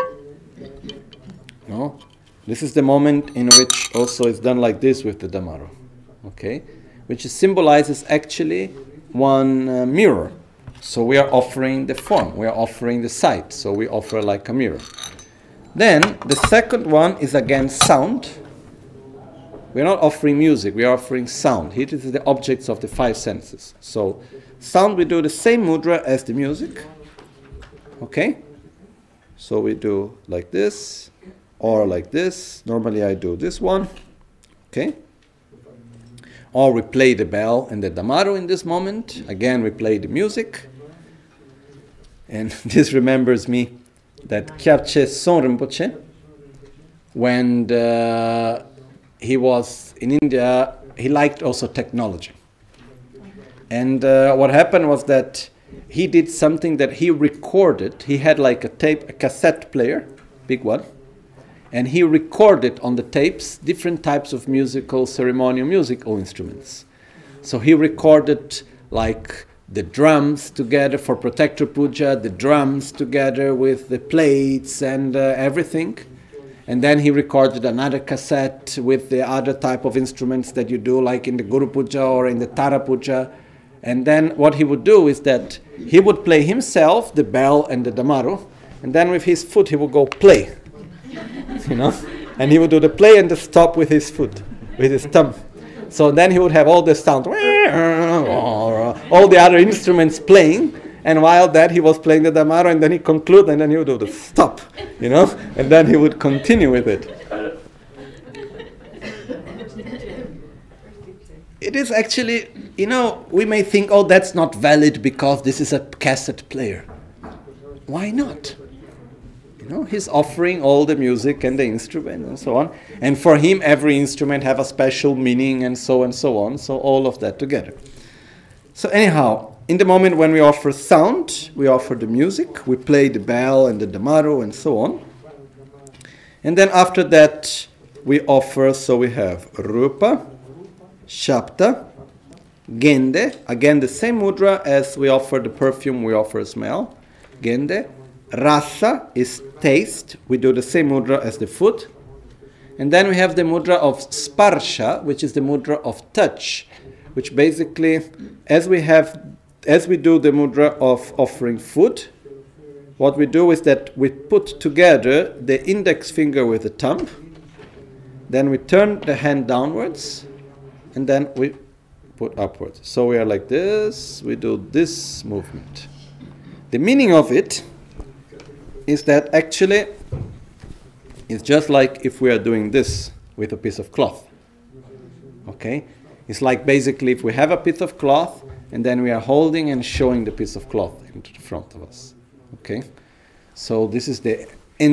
Speaker 2: this is the moment in which also it's done like this with the damaru. Okay? Which symbolizes actually one mirror. So we are offering the form, we are offering the sight, so we offer like a mirror. Then the second one is again sound. We are not offering music, we are offering sound. Here is the objects of the 5 senses. So, sound we do the same mudra as the music. Okay? So we do like this, or like this. Normally I do this one. Okay? Or we play the bell and the damaru in this moment. Again, we play the music. And this remembers me that Kyabche Son Rinpoche, when he was in India, he liked also technology. And what happened was that he did something that he recorded. He had like a cassette player, big one, and he recorded on the tapes different types of ceremonial musical instruments. So he recorded like the drums together for Protector Puja, the drums together with the plates and everything. And then he recorded another cassette with the other type of instruments that you do, like in the Guru Puja or in the Tara Puja. And then what he would do is that he would play himself, the bell and the damaru, and then with his foot he would go play, and he would do the play and the stop with his foot, with his thumb. So then he would have all the sound, all the other instruments playing, and while that he was playing the damaru, and then he conclude, and then he would do the stop, and then he would continue with it. It is actually, we may think, oh, that's not valid because this is a cassette player. Why not? He's offering all the music and the instrument and so on. And for him, every instrument have a special meaning and so on. So all of that together. So anyhow, in the moment when we offer sound, we offer the music. We play the bell and the damaru and so on. And then after that, we offer, so we have rupa, shabda, gende, again the same mudra as we offer the perfume, we offer smell, gende. Rasa is taste, we do the same mudra as the food. And then we have the mudra of sparsha, which is the mudra of touch, which basically, as we do the mudra of offering food, what we do is that we put together the index finger with the thumb, then we turn the hand downwards, and then we put upwards. So we are like this, we do this movement. The meaning of it is that actually it's just like if we are doing this with a piece of cloth. Okay? It's like basically if we have a piece of cloth and then we are holding and showing the piece of cloth into the front of us. Okay? So this is the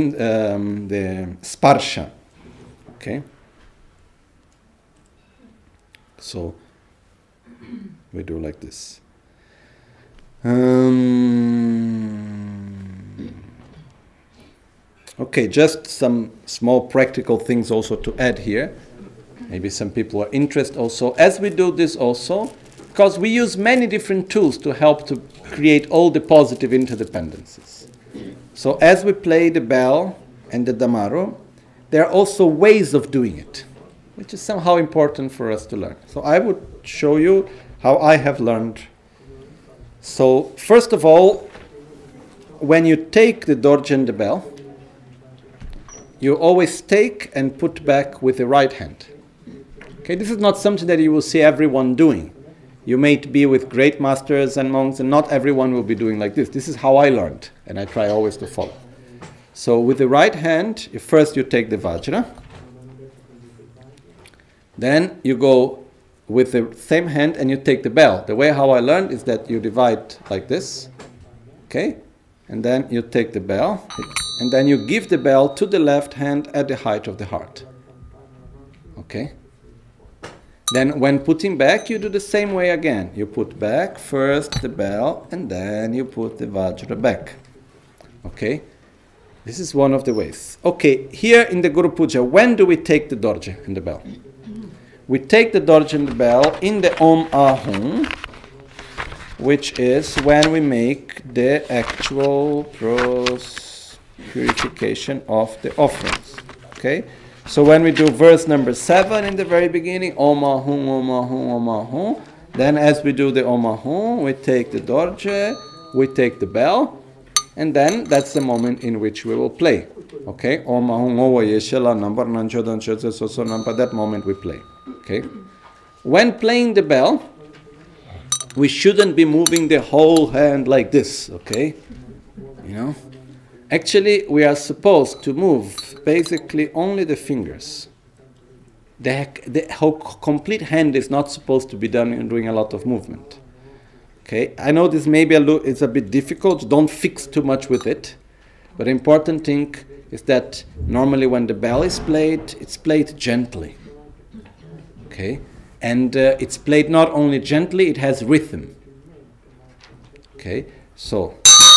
Speaker 2: sparsha. Okay? So we do like this. Okay, just some small practical things also to add here. Maybe some people are interested also. As we do this also, because we use many different tools to help to create all the positive interdependencies. So as we play the bell and the damaro, there are also ways of doing it, which is somehow important for us to learn. So I would show you how I have learned. So first of all, when you take the dorje and the bell, you always take and put back with the right hand. Okay, this is not something that you will see everyone doing. You may be with great masters and monks, and not everyone will be doing like this. This is how I learned, and I try always to follow. So with the right hand, first you take the vajra. Then you go with the same hand and you take the bell. The way how I learned is that you divide like this. Okay? And then you take the bell. And then you give the bell to the left hand at the height of the heart. Okay? Then when putting back, you do the same way again. You put back first the bell, and then you put the vajra back. Okay? This is one of the ways. Okay, here in the Guru Puja, when do we take the dorje and the bell? We take the dorje and the bell in the Om Ahum, which is when we make the actual purification of the offerings. Okay? So when we do verse number 7 in the very beginning, Om Ahum, Om Ahum, Om Ahum, then as we do the Om Ahum, we take the dorje, we take the bell, and then that's the moment in which we will play. Okay? Om Ahum, Ova Yeshela, number Nanchodan Chotse Soso Nampa, that moment we play. Okay? When playing the bell, we shouldn't be moving the whole hand like this, okay? You know? Actually, we are supposed to move basically only the fingers. The whole complete hand is not supposed to be done in doing a lot of movement. Okay? I know this maybe it's a bit difficult, don't fix too much with it, but the important thing is that normally when the bell is played, it's played gently. Okay? And it's played not only gently, it has rhythm. Okay? So.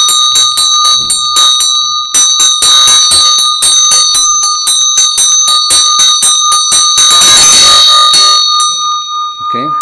Speaker 2: Okay?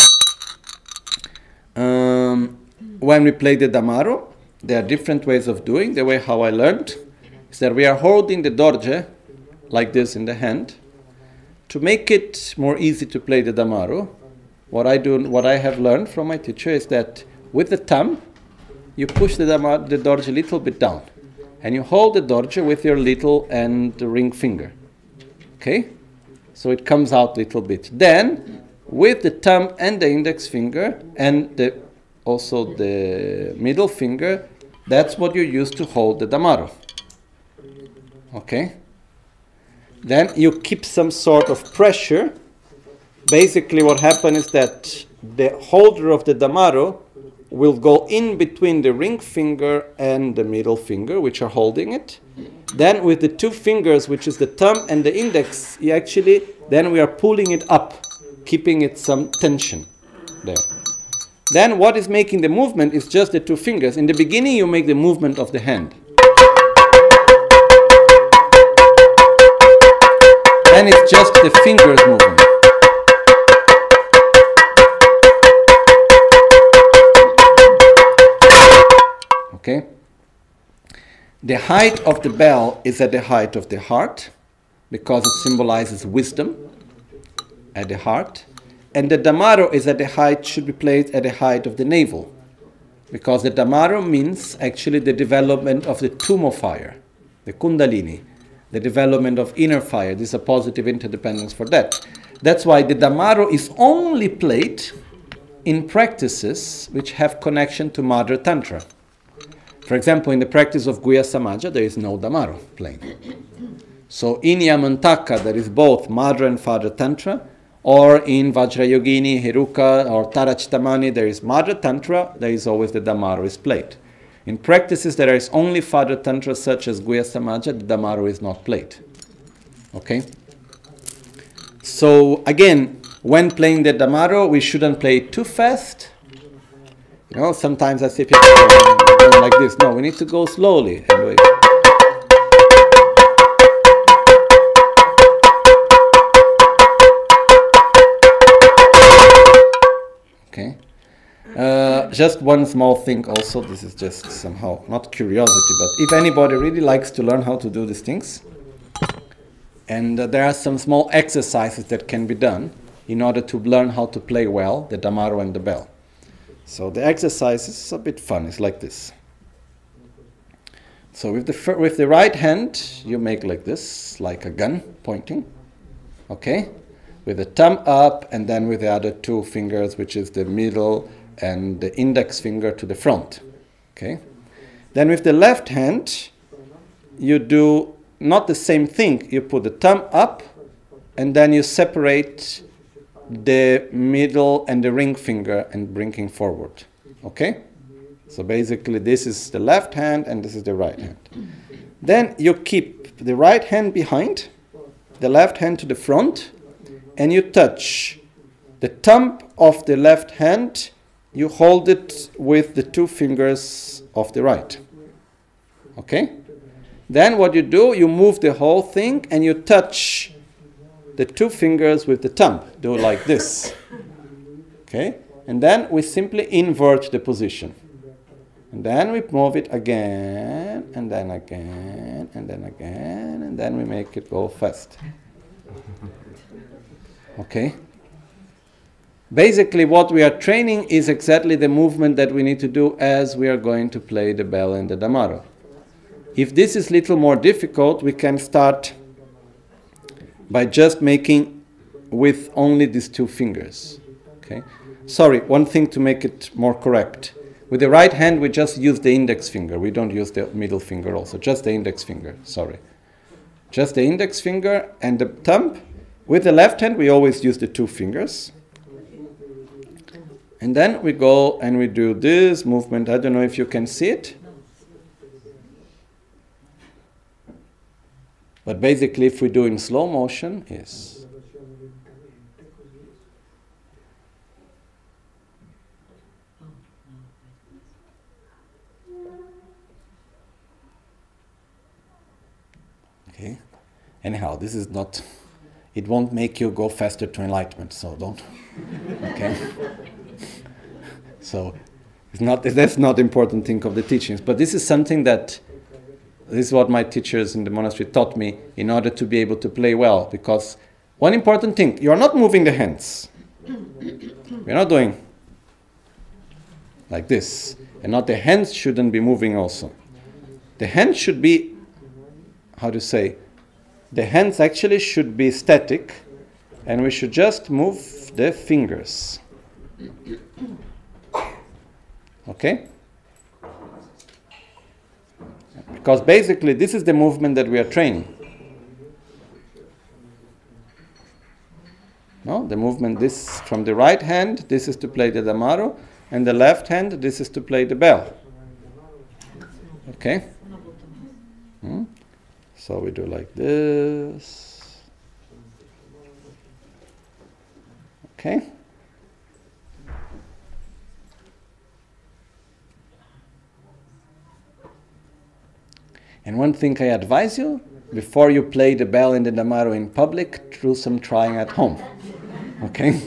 Speaker 2: When we play the damaro, there are different ways of doing. The way how I learned is that we are holding the dorje like this in the hand. To make it more easy to play the damaro, what I have learned from my teacher is that with the thumb, you push the dorje a little bit down, and you hold the dorje with your little and the ring finger. Okay? So it comes out a little bit. Then, with the thumb and the index finger, and also the middle finger, that's what you use to hold the damaro. Okay? Then you keep some sort of pressure. Basically what happens is that the holder of the damaro will go in between the ring finger and the middle finger, which are holding it. Then with the two fingers, which is the thumb and the index, then we are pulling it up, keeping it some tension there. Then what is making the movement is just the two fingers. In the beginning you make the movement of the hand. Then it's just the fingers moving. Okay? The height of the bell is at the height of the heart, because it symbolizes wisdom at the heart. and the Damaro is at the height, should be played at the height of the navel. Because the Damaro means actually the development of the Tumo fire, the Kundalini, the development of inner fire. This is a positive interdependence for that. That's why the Damaro is only played in practices which have connection to Mother Tantra. For example, in the practice of Guhya Samaja, there is no Damaro playing. So in Yamantaka, there is both Mother and Father Tantra, or in Vajrayogini, Heruka, or Tarachitamani, there is Mother Tantra, there is always the Damaro is played. In practices there is only Father Tantra, such as Guhya Samaja, the Damaro is not played. Okay? So again, when playing the Damaro, we shouldn't play it too fast. You know, sometimes I see people going like this. No, we need to go slowly and wait. Okay. Just one small thing also, this is just somehow not curiosity, but if anybody really likes to learn how to do these things, and there are some small exercises that can be done in order to learn how to play well the Damaro and the bell. So the exercise is a bit fun, it's like this. So with the right hand, you make like this, like a gun pointing, okay? With the thumb up, and then with the other two fingers, which is the middle and the index finger to the front. Okay? Then with the left hand, you do not the same thing. You put the thumb up, and then you separate the middle and the ring finger and bringing forward. Okay? So basically this is the left hand and this is the right hand. Then you keep the right hand behind, the left hand to the front, and you touch the thumb of the left hand, you hold it with the two fingers of the right. Okay? Then what you do, you move the whole thing and you touch the two fingers with the thumb. Do it like this. Okay? And then we simply invert the position. And then we move it again, and then again, and then again, and then we make it go fast. Okay? Basically what we are training is exactly the movement that we need to do as we are going to play the bell and the Damaro. If this is a little more difficult, we can start by just making with only these two fingers. Okay? Sorry, one thing to make it more correct. With the right hand, we just use the index finger. We don't use the middle finger also, just the index finger, sorry. Just the index finger and the thumb. With the left hand, we always use the two fingers. And then we go and we do this movement. I don't know if you can see it. But basically, if we do in slow motion, yes. Okay. Anyhow, this is not, it won't make you go faster to enlightenment, so don't. Okay. So it's not, that's not the important thing of the teachings, but this is something that, this is what my teachers in the monastery taught me in order to be able to play well. Because one important thing, you are not moving the hands. You're not doing like this. And not the hands shouldn't be moving also. The hands should be, how to say, the hands actually should be static, and we should just move the fingers. Okay? Because basically this is the movement that we are training. No, the movement, this from the right hand, this is to play the Damaro, and the left hand, this is to play the bell. Okay? So we do like this. Okay? And one thing I advise you, before you play the bell and the Damaro in public, do some trying at home. Okay?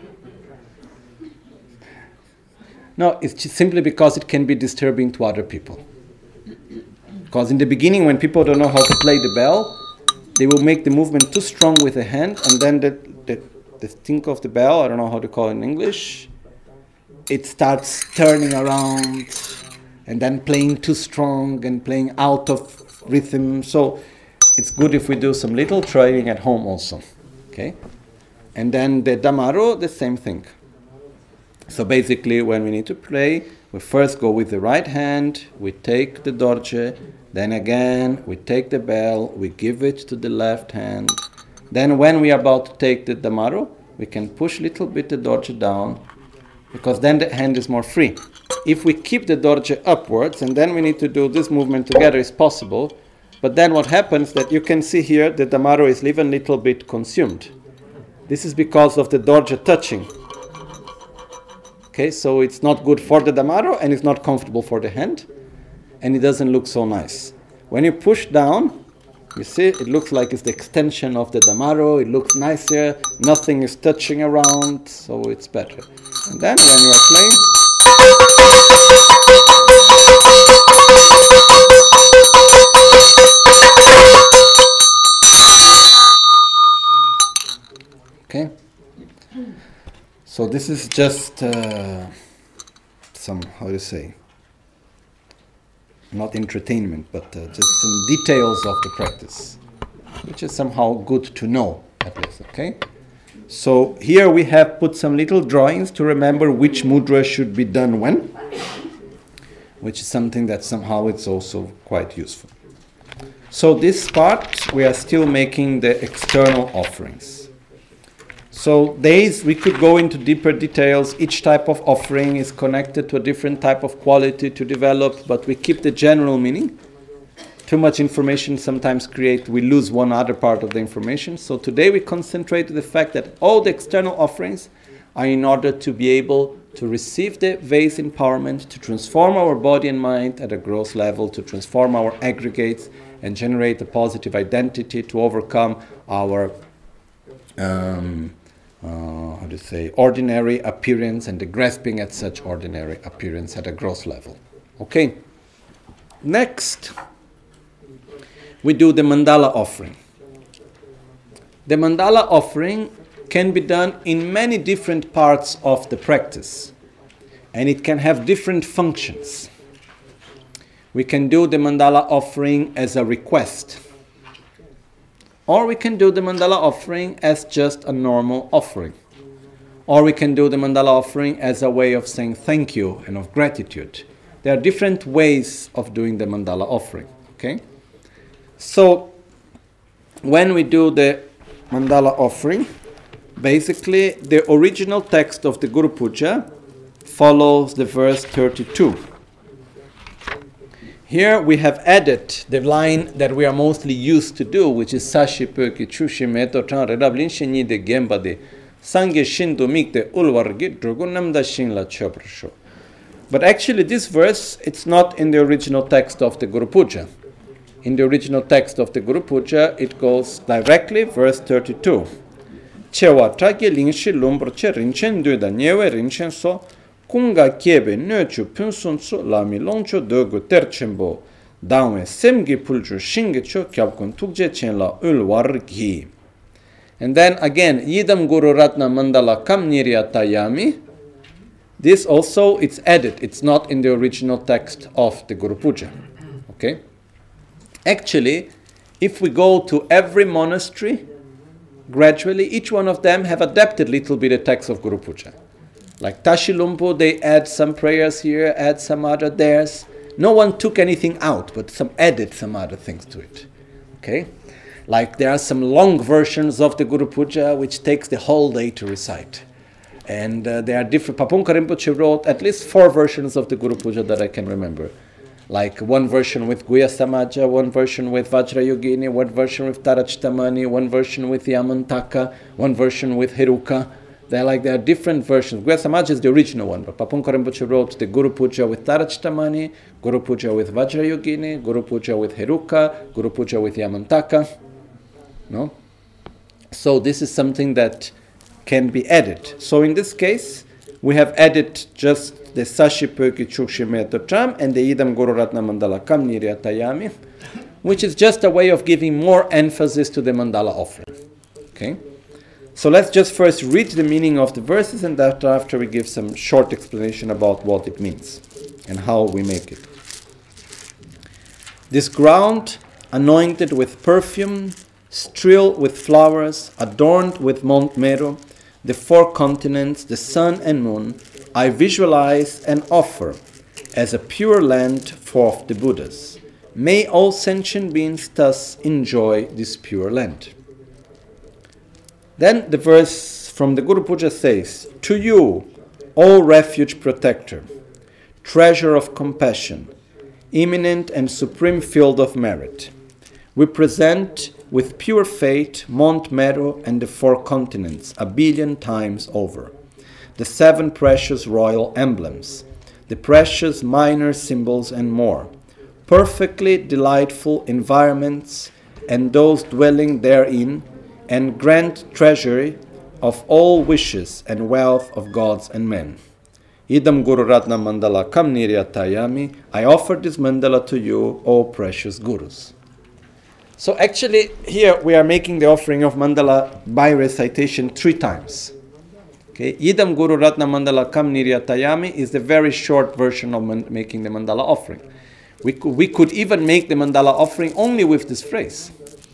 Speaker 2: No, it's just simply because it can be disturbing to other people. Because in the beginning, when people don't know how to play the bell, they will make the movement too strong with the hand, and then the the tinkle of the bell, I don't know how to call it in English, it starts turning around and then playing too strong and playing out of rhythm. So it's good if we do some little training at home also. Okay? And then the Damaro, the same thing. So basically, when we need to play, we first go with the right hand, we take the dorje, then again, we take the bell, we give it to the left hand. Then when we are about to take the Damaro, we can push a little bit the dorje down, because then the hand is more free. If we keep the dorje upwards, and then we need to do this movement together, is possible. But then what happens that you can see here, the Damaro is even a little bit consumed. This is because of the dorje touching. Okay, so it's not good for the Damaro, and it's not comfortable for the hand, and it doesn't look so nice. When you push down, you see, it looks like it's the extension of the Damaro, it looks nicer, nothing is touching around, so it's better. And then when you are playing, okay? So this is just some, how to say, not entertainment, but just some details of the practice, which is somehow good to know, at least, okay? So here we have put some little drawings to remember which mudra should be done when, which is something that somehow it's also quite useful. So this part, we are still making the external offerings. So these, we could go into deeper details. Each type of offering is connected to a different type of quality to develop, but we keep the general meaning. Too much information sometimes we lose one other part of the information. So today we concentrate on the fact that all the external offerings are in order to be able to receive the vase empowerment, to transform our body and mind at a gross level, to transform our aggregates and generate a positive identity, to overcome our ordinary appearance and the grasping at such ordinary appearance at a gross level. Okay. Next, we do the mandala offering. The mandala offering can be done in many different parts of the practice, and it can have different functions. We can do the mandala offering as a request, or we can do the mandala offering as just a normal offering. Or we can do the mandala offering as a way of saying thank you and of gratitude. There are different ways of doing the mandala offering. Okay? So, when we do the mandala offering, basically the original text of the Guru Puja follows the verse 32. Here we have added the line that we are mostly used to do, which is Sashi Pöki Chushi Meto Chan Redablin Shinyi de Gembade Sange Shindu Mikde Ulwargi Drugunamda Shinla Choprasho. But actually this verse, it's not in the original text of the Guru Puja. In the original text of the Guru Puja, it goes directly, verse 32. Chewa Tragi Lingshi Lumbrche Rinchen Duda Niewe Rinchen So Kunga Kiebe Nöchu Punsunsu Lami Loncho Dogu Terchembo Dawe Semgi Pulju Shingecho Kyabkun Tukje Chenla Ulwargi. And then again, Yidam Guru Ratna Mandala Kam Niryatayami. This also, it's added. It's not in the original text of the Guru Puja. Okay? Actually, if we go to every monastery, gradually, each one of them have adapted a little bit the text of Guru Puja. Like Tashilumpo, they add some prayers here, add some other theirs. No one took anything out, but some added some other things to it. Okay? Like there are some long versions of the Guru Puja which takes the whole day to recite. And there are different, Papunka Rinpoche wrote at least 4 versions of the Guru Puja that I can remember. Like one version with Guya Samaja, one version with Vajrayogini, one version with Tarachtamani, one version with Yamantaka, one version with Heruka. There are different versions. Guya Samaja is the original one, but Papunka Rinpoche wrote the Guru Puja with Tarachtamani, Guru Puja with Vajrayogini, Guru Puja with Heruka, Guru Puja with Yamantaka. No? So this is something that can be added. So in this case, we have added just the Sashi Pöki Chukshi Meto Cham and the Idam Guru Ratna Mandala Kam Niryatayami, which is just a way of giving more emphasis to the mandala offering. Okay? So let's just first read the meaning of the verses, and after we give some short explanation about what it means and how we make it. This ground, anointed with perfume, strewn with flowers, adorned with Mount Meru, the 4 continents, the sun and moon, I visualize and offer as a pure land for the Buddhas. May all sentient beings thus enjoy this pure land. Then the verse from the Guru Puja says, to you, O refuge protector, treasure of compassion, imminent and supreme field of merit, we present with pure faith Mount Meru and the 4 continents 1 billion times over, the 7 precious royal emblems, the precious minor symbols and more, perfectly delightful environments and those dwelling therein, and grand treasury of all wishes and wealth of gods and men. Idam Guru Ratna Mandala Kam Niryatayami. I offer this mandala to you, O precious Gurus. So actually here we are making the offering of mandala by recitation 3 times. Okay, Idam Guru Ratna Mandala Kam Niryatayami is the very short version of making the mandala offering. We could even make the mandala offering only with this phrase.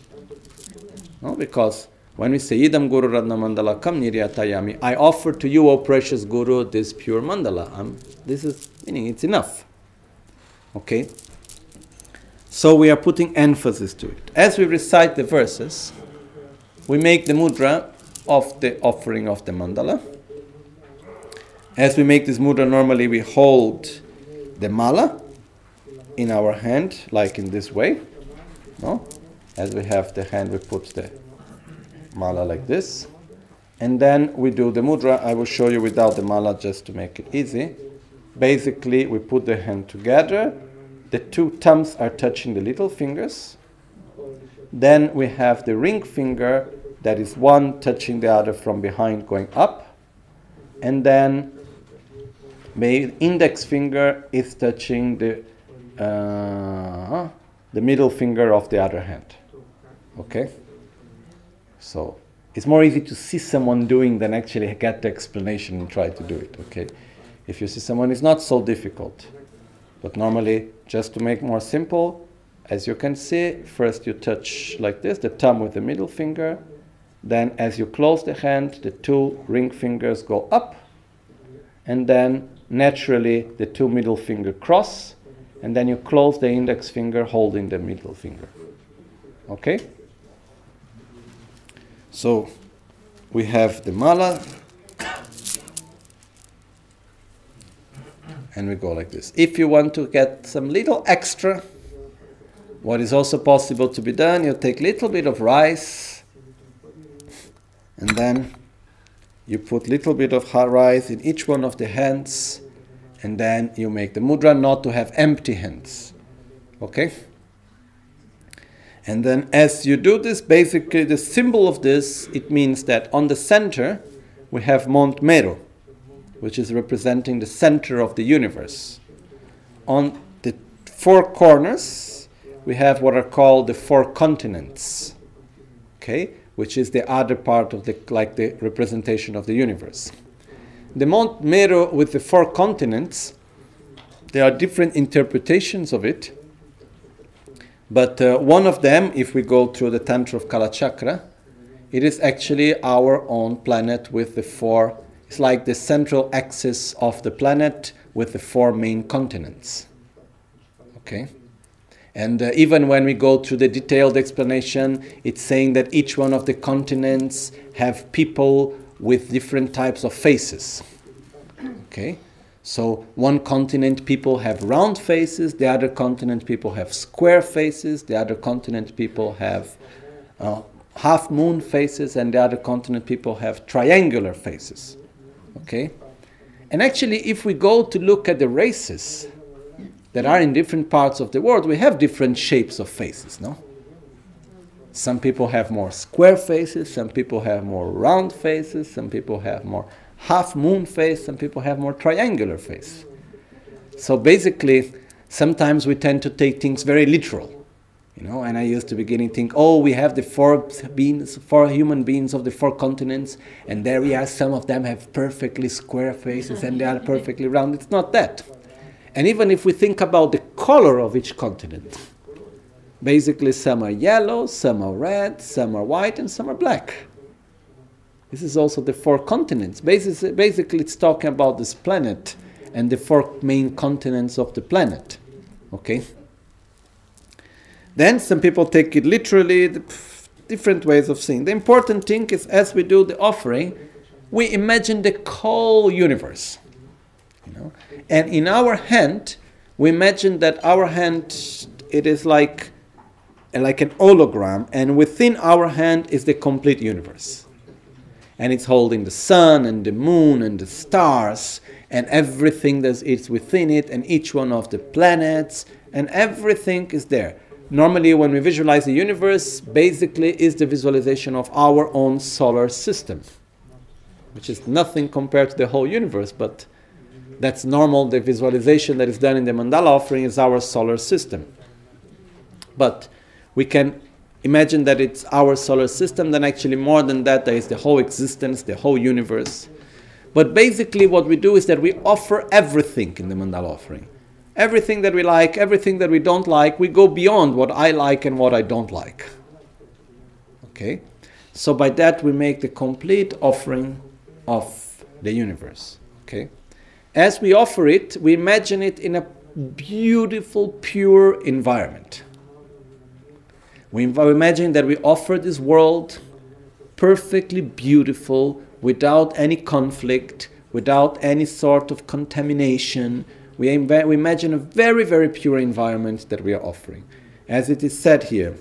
Speaker 2: No, because when we say Idam Guru Ratna Mandala Kam Niryatayami, I offer to you, O precious Guru, this pure mandala. This is meaning it's enough. Okay? So we are putting emphasis to it. As we recite the verses, we make the mudra of the offering of the mandala. As we make this mudra, normally we hold the mala in our hand, like in this way. No? As we have the hand, we put the mala like this. And then we do the mudra. I will show you without the mala just to make it easy. Basically, we put the hand together. The 2 thumbs are touching the little fingers. Then we have the ring finger, that is one touching the other from behind going up. And then the index finger is touching the middle finger of the other hand. Okay? So it's more easy to see someone doing than actually get the explanation and try to do it. Okay? If you see someone, it's not so difficult. But normally, just to make more simple, as you can see, first you touch like this, the thumb with the middle finger. Then as you close the hand, the 2 ring fingers go up. And then naturally the 2 middle finger cross. And then you close the index finger holding the middle finger. Okay? So we have the mala. And we go like this. If you want to get some little extra, what is also possible to be done, you take a little bit of rice. And then you put a little bit of rice in each one of the hands. And then you make the mudra not to have empty hands. Okay? And then as you do this, basically the symbol of this, it means that on the center we have Mount Meru, which is representing the center of the universe. On the 4 corners we have what are called the 4 continents. Okay? Which is the other part of the representation of the universe. The Mount Meru with the 4 continents, there are different interpretations of it. But one of them, if we go through the Tantra of Kalachakra, it is actually our own planet with the 4, it's like the central axis of the planet with the 4 main continents. Okay? And even when we go through the detailed explanation, it's saying that each one of the continents have people with different types of faces. Okay? So one continent people have round faces, the other continent people have square faces, the other continent people have half moon faces, and the other continent people have triangular faces. Okay? And actually, if we go to look at the races that are in different parts of the world, we have different shapes of faces, no? Some people have more square faces, some people have more round faces, some people have more half moon face, some people have more triangular face. So basically, sometimes we tend to take things very literal. And I used to beginning think, oh, we have the four human beings of the four continents, and there we are, some of them have perfectly square faces and they are perfectly round. It's not that. And even if we think about the color of each continent, basically some are yellow, some are red, some are white, and some are black. This is also the four continents. Basically it's talking about this planet and the four main continents of the planet. Okay? Then some people take it literally, different ways of seeing. The important thing is, as we do the offering, we imagine the whole universe. And in our hand, we imagine that our hand, it is like an hologram, and within our hand is the complete universe. And it's holding the sun and the moon and the stars and everything that is within it, and each one of the planets, and everything is there. Normally, when we visualize the universe, basically is the visualization of our own solar system, which is nothing compared to the whole universe, but that's normal. The visualization that is done in the mandala offering is our solar system. But we can imagine that it's our solar system, then actually more than that, there is the whole existence, the whole universe. But basically what we do is that we offer everything in the mandala offering. Everything that we like, everything that we don't like, we go beyond what I like and what I don't like. Okay? So by that we make the complete offering of the universe. Okay? As we offer it, we imagine it in a beautiful, pure environment. We imagine that we offer this world perfectly beautiful, without any conflict, without any sort of contamination. We imagine a very, very pure environment that we are offering. As it is said here,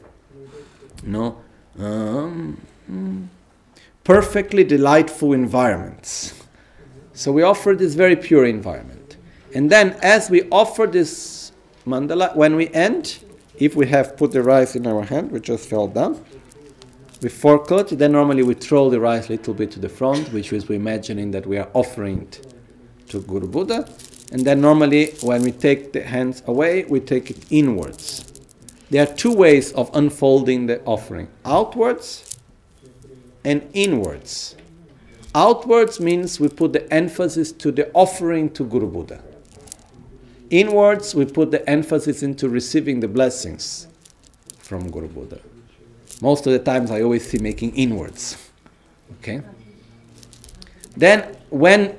Speaker 2: perfectly delightful environments. So we offer this very pure environment. And then as we offer this mandala, when we end, if we have put the rice in our hand, we just fell down, we forecut, then normally we throw the rice a little bit to the front, which is we imagining that we are offering it to Guru Buddha. And then normally when we take the hands away, we take it inwards. There are two ways of unfolding the offering: outwards and inwards. Outwards means we put the emphasis to the offering to Guru Buddha. Inwards, we put the emphasis into receiving the blessings from Guru Buddha. Most of the times I always see making inwards. Okay? Then when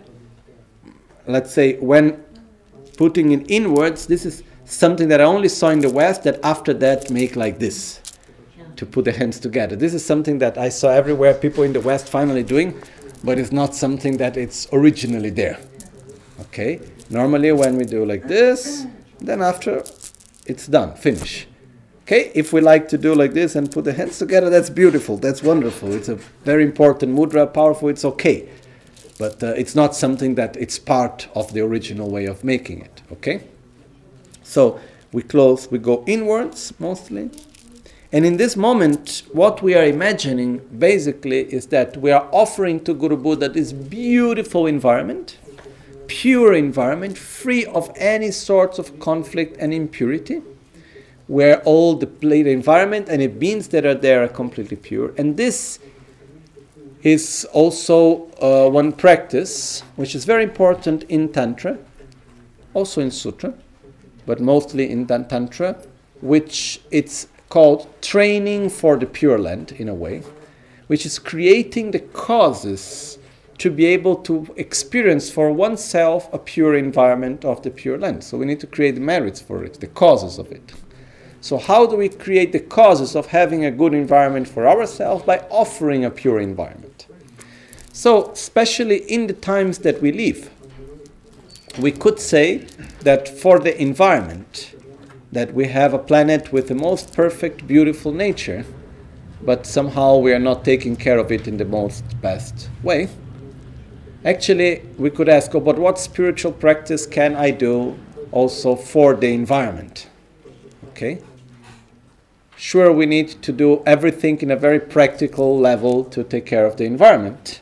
Speaker 2: putting it inwards, this is something that I only saw in the West, that after that make like this, to put the hands together. This is something that I saw everywhere, people in the West finally doing, but it's not something that it's originally there. Okay? Normally when we do like this, then after it's done, finish. Okay? If we like to do like this and put the hands together, that's beautiful, that's wonderful. It's a very important mudra, powerful, it's okay. But it's not something that it's part of the original way of making it. Okay? So we go inwards mostly. And in this moment, what we are imagining basically is that we are offering to Guru Buddha this beautiful environment, pure environment, free of any sorts of conflict and impurity, where all the environment and the beings that are there are completely pure. And this is also one practice which is very important in Tantra, also in Sutra, but mostly in Tantra, which it's called training for the Pure Land, in a way, which is creating the causes to be able to experience for oneself a pure environment of the Pure Land. So we need to create the merits for it, the causes of it. So how do we create the causes of having a good environment for ourselves? By offering a pure environment. So especially in the times that we live, we could say that for the environment, that we have a planet with the most perfect, beautiful nature, but somehow we are not taking care of it in the most best way. Actually, we could ask, but what spiritual practice can I do also for the environment? Okay? Sure, we need to do everything in a very practical level to take care of the environment.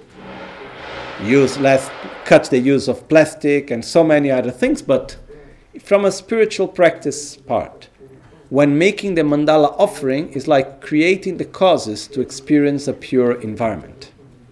Speaker 2: Cut the use of plastic and so many other things, but from a spiritual practice part, when making the mandala offering, is like creating the causes to experience a pure environment.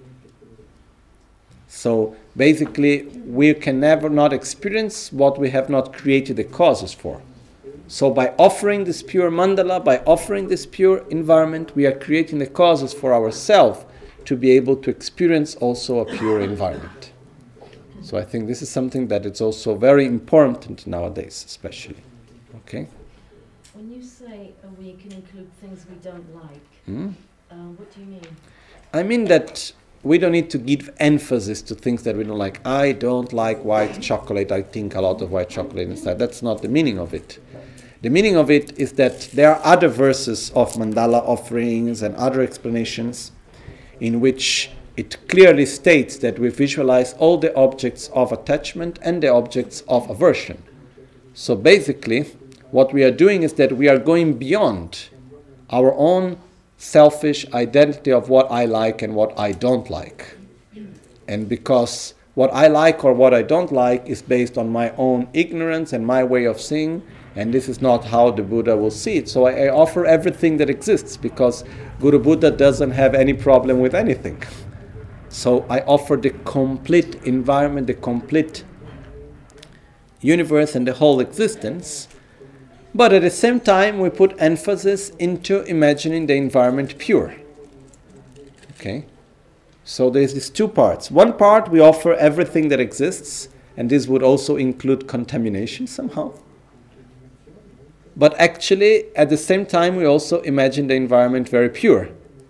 Speaker 2: So basically, we can never not experience what we have not created the causes for. So by offering this pure mandala, by offering this pure environment, we are creating the causes for ourselves to be able to experience also a pure environment. So I think this is something that is also very important nowadays, especially. Okay?
Speaker 4: When you say we can include things we don't like, what do you mean?
Speaker 2: I mean that we don't need to give emphasis to things that we don't like. I don't like white chocolate. I think a lot of white chocolate inside. That's not the meaning of it. The meaning of it is that there are other verses of mandala offerings and other explanations in which it clearly states that we visualize all the objects of attachment and the objects of aversion. So basically, what we are doing is that we are going beyond our own selfish identity of what I like and what I don't like. And because what I like or what I don't like is based on my own ignorance and my way of seeing, and this is not how the Buddha will see it. So I offer everything that exists because Guru Buddha doesn't have any problem with anything. So I offer the complete environment, the complete universe and the whole existence. But at the same time, we put emphasis into imagining the environment pure. Okay? So there's these two parts. One part, we offer everything that exists, and this would also include contamination somehow. But actually, at the same time, we also imagine the environment very pure,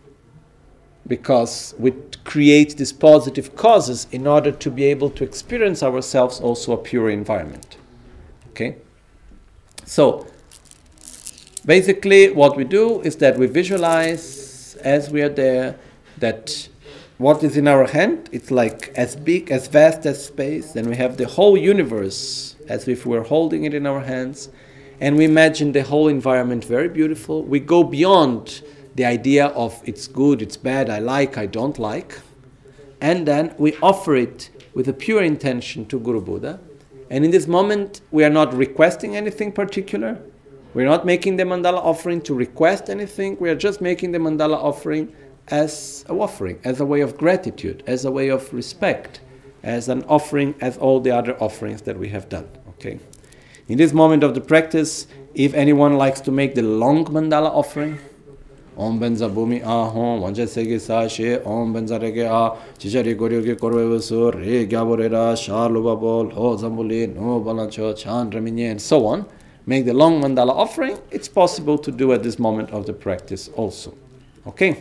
Speaker 2: because we create these positive causes in order to be able to experience ourselves also a pure environment. Okay? So, basically, what we do is that we visualize, as we are there, that what is in our hand, it's like as big, as vast as space, then we have the whole universe as if we were holding it in our hands, and we imagine the whole environment very beautiful. We go beyond the idea of it's good, it's bad, I like, I don't like, and then we offer it with a pure intention to Guru Buddha. And in this moment, we are not requesting anything particular. We're not making the mandala offering to request anything. We are just making the mandala offering as an offering, as a way of gratitude, as a way of respect, as an offering, as all the other offerings that we have done. Okay. In this moment of the practice, if anyone likes to make the long mandala offering, Om benza bhumi ahom, vanja sege sa she, Om benza rege a, chichari goryogi korwevasu, re gyaborera, sharlubabol, ho zambuli, no balancho, chan raminye, and so on, make the long mandala offering, it's possible to do at this moment of the practice also. Okay?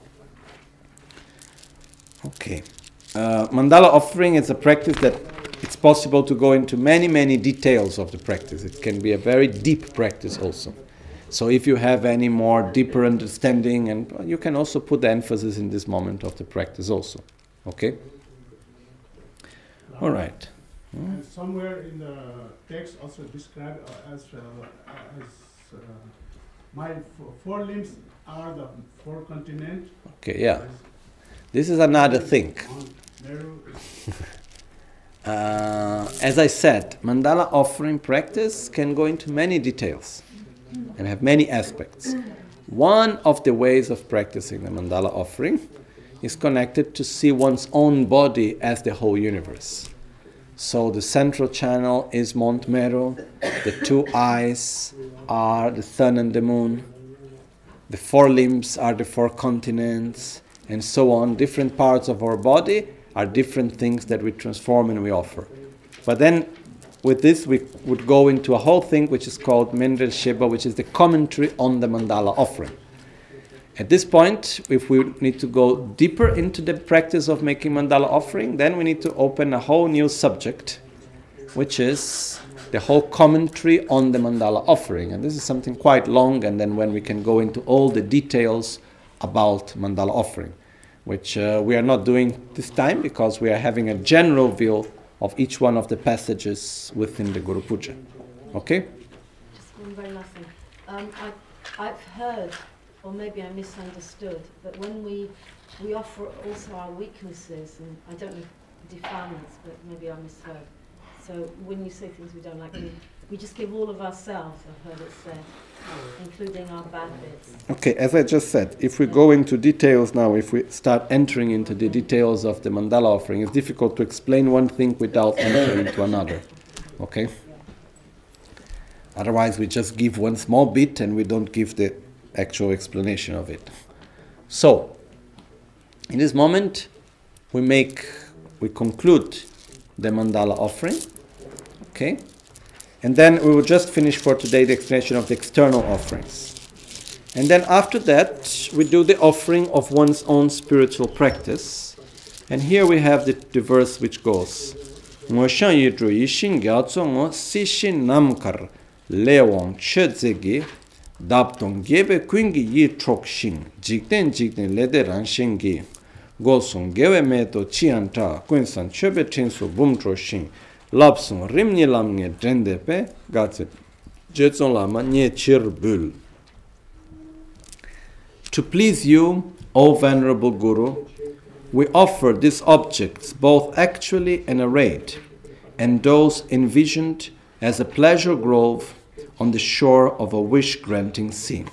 Speaker 2: Okay. Mandala offering is a practice that it's possible to go into many, many details of the practice. It can be a very deep practice also. So if you have any more deeper understanding, and you can also put the emphasis in this moment of the practice also. Okay? All right.
Speaker 5: Somewhere in the text also described as my four limbs are the four continents.
Speaker 2: Okay, yeah. This is another thing. As I said, mandala offering practice can go into many details and have many aspects. One of the ways of practicing the mandala offering is connected to see one's own body as the whole universe. So the central channel is Mount Meru, the two eyes are the sun and the moon, the four limbs are the four continents, and so on. Different parts of our body are different things that we transform and we offer. But then with this we would go into a whole thing which is called Mendel Sheba, which is the commentary on the mandala offering. At this point, if we need to go deeper into the practice of making mandala offering, then we need to open a whole new subject, which is the whole commentary on the mandala offering. And this is something quite long, and then when we can go into all the details about mandala offering, which we are not doing this time because we are having a general view of each one of the passages within the Guru Puja. Okay?
Speaker 4: Just one very last thing. I've heard, or maybe I misunderstood, that when we offer also our weaknesses, and I don't know defilements, but maybe I misheard. So when you say things we don't like, we just give all of ourselves, I've heard it said, including our bad bits.
Speaker 2: Okay, as I just said, if we go into details now, if we start entering into the details of the mandala offering, it's difficult to explain one thing without entering into another. Okay? Otherwise, we just give one small bit and we don't give the actual explanation of it. So, in this moment, we conclude the mandala offering. Okay? And then we will just finish for today the explanation of the external offerings. And then after that, we do the offering of one's own spiritual practice. And here we have the verse which goes, Ngo shan yidru yishin gyatso ngo sishin namkar lewang chedzegi dabtong gebe kwingi yi trokshin jikten lede ranshingi gosung gewe meto chianta kwinsan chebe tinsu bumtroshin lapsung rimni lamnge drendepe gatse jetson lama nye chirbul. To please you, O Venerable Guru, we offer these objects both actually and arrayed, and those envisioned as a pleasure grove on the shore of a wish-granting sea.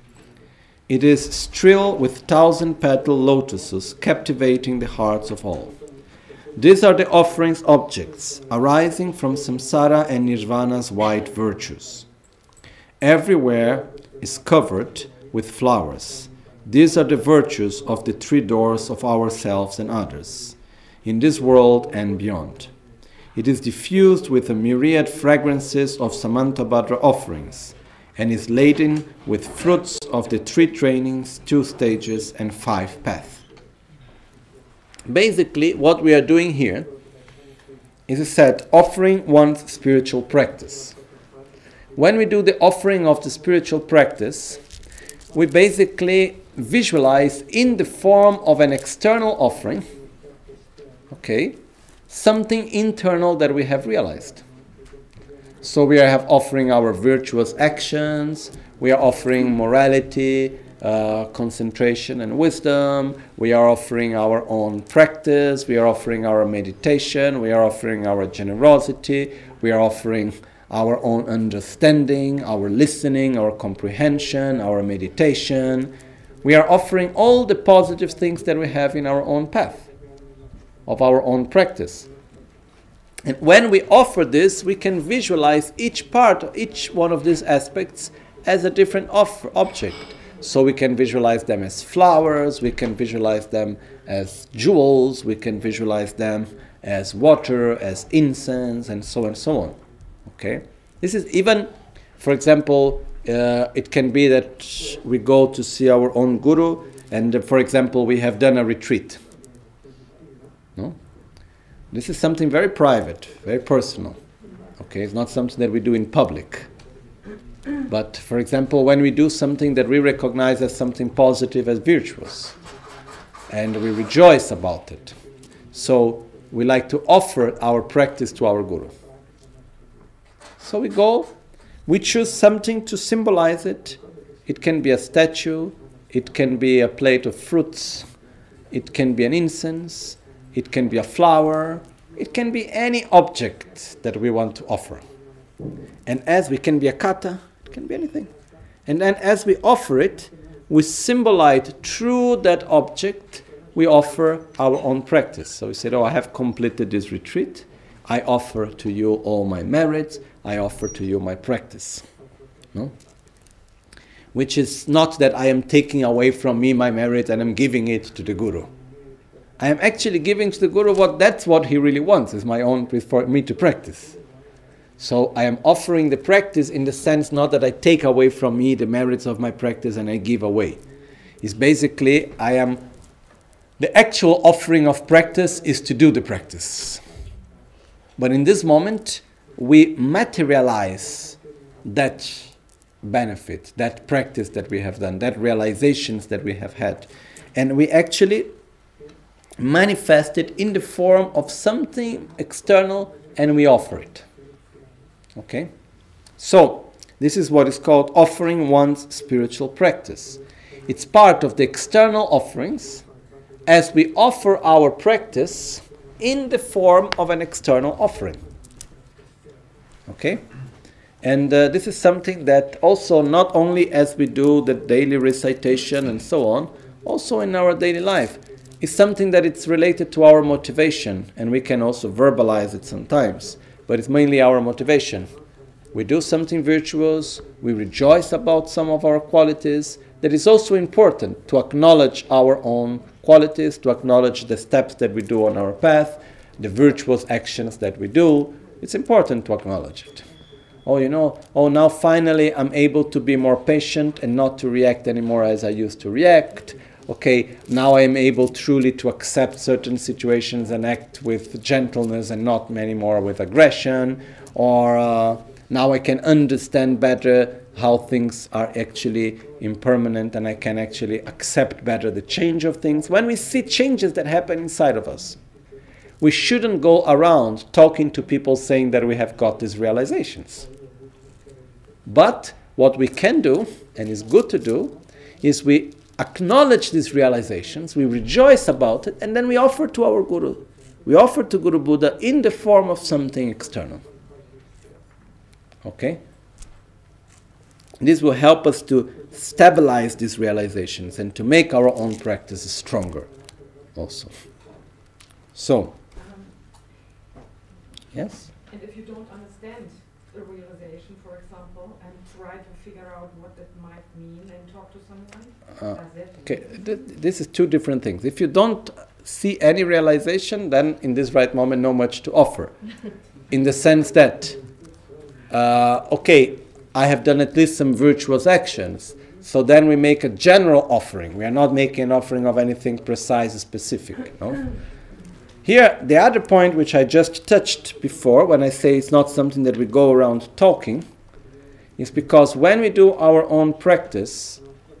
Speaker 2: It is still with 1,000-petal lotuses captivating the hearts of all. These are the offerings objects arising from samsara and nirvana's white virtues. Everywhere is covered with flowers. These are the virtues of the three doors of ourselves and others, in this world and beyond. It is diffused with a myriad fragrances of Samantabhadra offerings, and is laden with fruits of the 3 trainings, 2 stages, and 5 paths. Basically, what we are doing here is a set offering one's spiritual practice. When we do the offering of the spiritual practice, we basically visualize in the form of an external offering, okay, something internal that we have realized. So we are offering our virtuous actions, we are offering morality, concentration and wisdom, we are offering our own practice, we are offering our meditation, we are offering our generosity, we are offering our own understanding, our listening, our comprehension, our meditation. We are offering all the positive things that we have in our own path, of our own practice. And when we offer this, we can visualize each part, each one of these aspects as a different object. So we can visualize them as flowers, we can visualize them as jewels, we can visualize them as water, as incense, and so on. Okay? This is even, for example, it can be that we go to see our own guru, and for example, we have done a retreat. No? This is something very private, very personal. Okay, it's not something that we do in public. But for example, when we do something that we recognize as something positive, as virtuous, and we rejoice about it, so we like to offer our practice to our guru. So we go, we choose something to symbolize it. It can be a statue, it can be a plate of fruits, it can be an incense, it can be a flower, it can be any object that we want to offer. And as we can be a kata, it can be anything. And then as we offer it, we symbolize through that object, we offer our own practice. So we said, I have completed this retreat. I offer to you all my merits. I offer to you my practice. No? Which is not that I am taking away from me my merit and I'm giving it to the guru. I am actually giving to the guru that's what he really wants, is my own, for me to practice. So I am offering the practice in the sense not that I take away from me the merits of my practice and I give away. It's basically, the actual offering of practice is to do the practice. But in this moment, we materialize that benefit, that practice that we have done, that realizations that we have had. And we actually manifest it in the form of something external and we offer it. Okay? So, this is what is called offering one's spiritual practice. It's part of the external offerings as we offer our practice in the form of an external offering. Okay? And this is something that also not only as we do the daily recitation and so on, also in our daily life, is something that it's related to our motivation, and we can also verbalize it sometimes, but it's mainly our motivation. We do something virtuous, we rejoice about some of our qualities. That is also important to acknowledge our own qualities, to acknowledge the steps that we do on our path, the virtuous actions that we do. It's important to acknowledge it. Now finally I'm able to be more patient and not to react anymore as I used to react. Okay, now I am able truly to accept certain situations and act with gentleness and not anymore with aggression. Or now I can understand better how things are actually impermanent, and I can actually accept better the change of things. When we see changes that happen inside of us, we shouldn't go around talking to people saying that we have got these realizations. But what we can do, and is good to do, is we acknowledge these realizations, we rejoice about it, and then we offer to our Guru. We offer to Guru Buddha in the form of something external. Okay? This will help us to stabilize these realizations and to make our own practice stronger also. So, yes?
Speaker 6: And if you don't understand a realization, for example, and try to figure out what it might mean and talk to someone, does it?
Speaker 2: Okay, this is two different things. If you don't see any realization, then in this right moment, not much to offer. In the sense that, I have done at least some virtuous actions, so then we make a general offering. We are not making an offering of anything precise, specific. No? Here, the other point which I just touched before, when I say it's not something that we go around talking, is because when we do our own practice,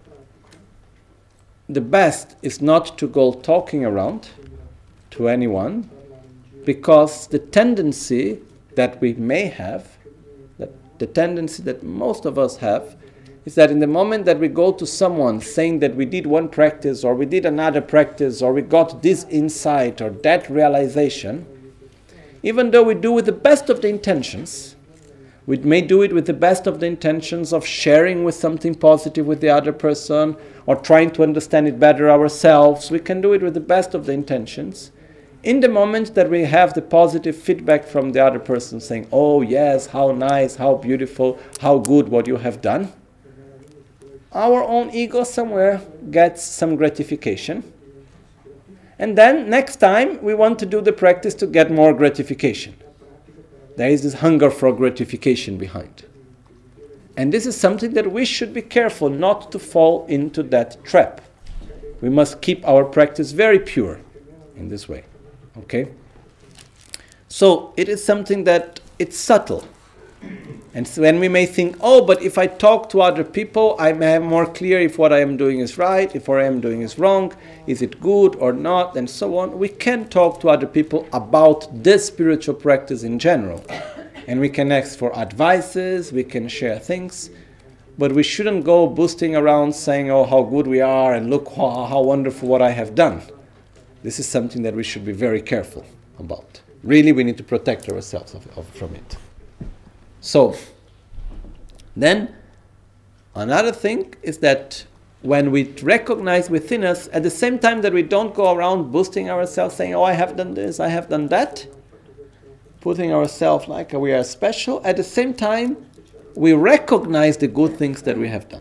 Speaker 2: the best is not to go talking around to anyone, because the tendency that we may have, the tendency that most of us have, is that in the moment that we go to someone saying that we did one practice or we did another practice or we got this insight or that realization, even though we do with the best of the intentions, we may do it with the best of the intentions of sharing with something positive with the other person or trying to understand it better ourselves. We can do it with the best of the intentions. In the moment that we have the positive feedback from the other person saying, oh yes, how nice, how beautiful, how good what you have done, our own ego somewhere gets some gratification. And then next time we want to do the practice to get more gratification. There is this hunger for gratification behind. And this is something that we should be careful not to fall into that trap. We must keep our practice very pure in this way. Okay? So it is something that it's subtle. And so when we may think, oh, but if I talk to other people, I may have more clear if what I am doing is right, if what I am doing is wrong, is it good or not, and so on. We can talk to other people about this spiritual practice in general. And we can ask for advices, we can share things, but we shouldn't go boosting around saying, oh, how good we are, and look how wonderful what I have done. This is something that we should be very careful about. Really, we need to protect ourselves from it. So, then, another thing is that when we recognize within us, at the same time that we don't go around boosting ourselves, saying, oh, I have done this, I have done that, putting ourselves like we are special, at the same time, we recognize the good things that we have done.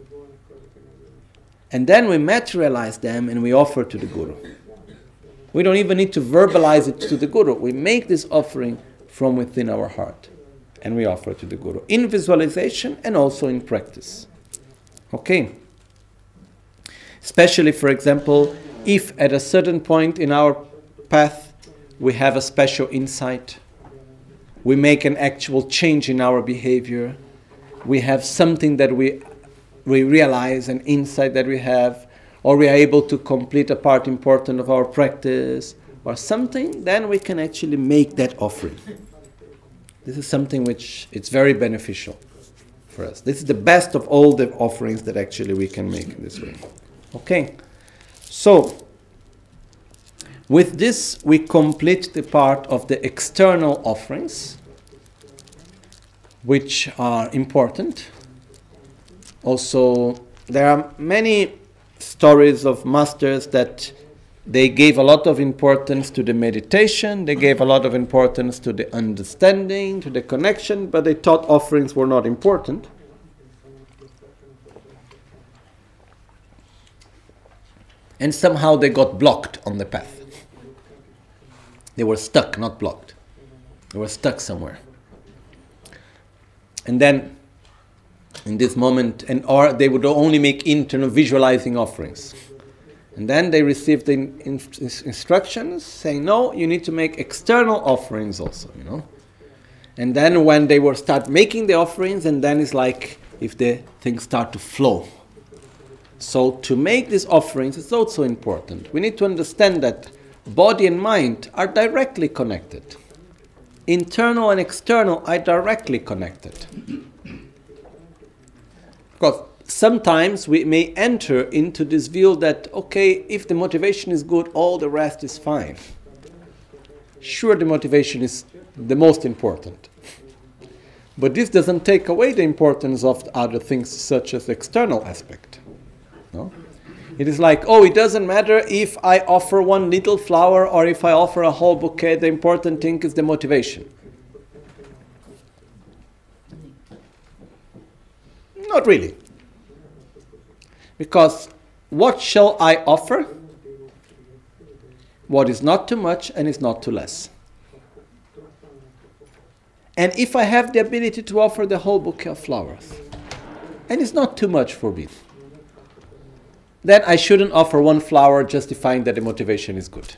Speaker 2: And then we materialize them and we offer to the Guru. We don't even need to verbalize it to the Guru. We make this offering from within our heart. And we offer to the Guru. In visualization and also in practice. Okay? Especially, for example, if at a certain point in our path we have a special insight, we make an actual change in our behavior, we have something that we realize, an insight that we have, or we are able to complete a part important of our practice, or something, then we can actually make that offering. This is something which it's very beneficial for us. This is the best of all the offerings that actually we can make in this way. Okay, so with this we complete the part of the external offerings. which are important. Also, there are many stories of masters that they gave a lot of importance to the meditation, they gave a lot of importance to the understanding, to the connection, but they thought offerings were not important. And somehow they got blocked on the path. They were stuck, not blocked. They were stuck somewhere. And then, in this moment, or they would only make internal visualizing offerings. And then they received the instructions saying, no, you need to make external offerings also, you know. And then when they will start making the offerings, and then it's like if the things start to flow. So to make these offerings is also important. We need to understand that body and mind are directly connected. Internal and external are directly connected. Because sometimes we may enter into this view that, okay, if the motivation is good, all the rest is fine. Sure, the motivation is the most important. But this doesn't take away the importance of other things such as the external aspect. No? It is like, oh, it doesn't matter if I offer one little flower or if I offer a whole bouquet, the important thing is the motivation. Not really. Because what shall I offer? What is not too much and is not too less. And if I have the ability to offer the whole bouquet of flowers, and it's not too much for me, then I shouldn't offer one flower justifying that the motivation is good.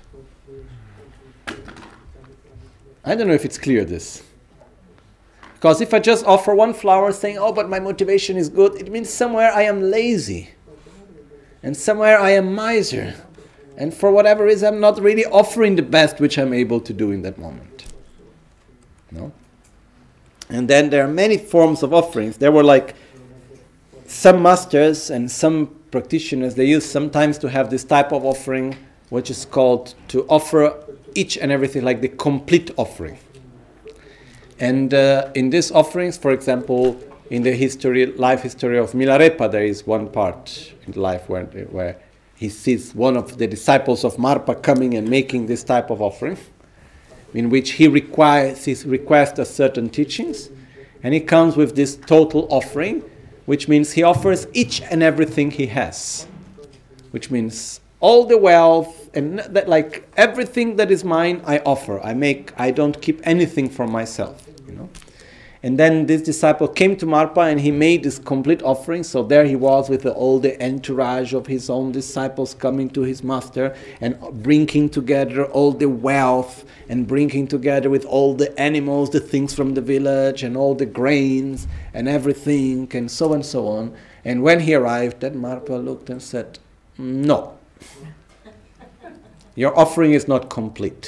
Speaker 2: I don't know if it's clear, this. Because if I just offer one flower saying, oh, but my motivation is good, it means somewhere I am lazy. And somewhere I am miser. And for whatever reason, I'm not really offering the best which I'm able to do in that moment. No? And then there are many forms of offerings. There were like some masters and some practitioners, they used sometimes to have this type of offering, which is called to offer each and everything, like the complete offering. And in these offerings, for example, in the life history of Milarepa, there is one part in life where he sees one of the disciples of Marpa coming and making this type of offering, in which he requests certain teachings, and he comes with this total offering, which means he offers each and everything he has, which means all the wealth and that, like everything that is mine, I offer. I don't keep anything for myself, you know. And then this disciple came to Marpa and he made this complete offering. So there he was with all the entourage of his own disciples coming to his master and bringing together all the wealth and bringing together with all the animals, the things from the village and all the grains and everything and so on. And when he arrived, then Marpa looked and said, no, your offering is not complete.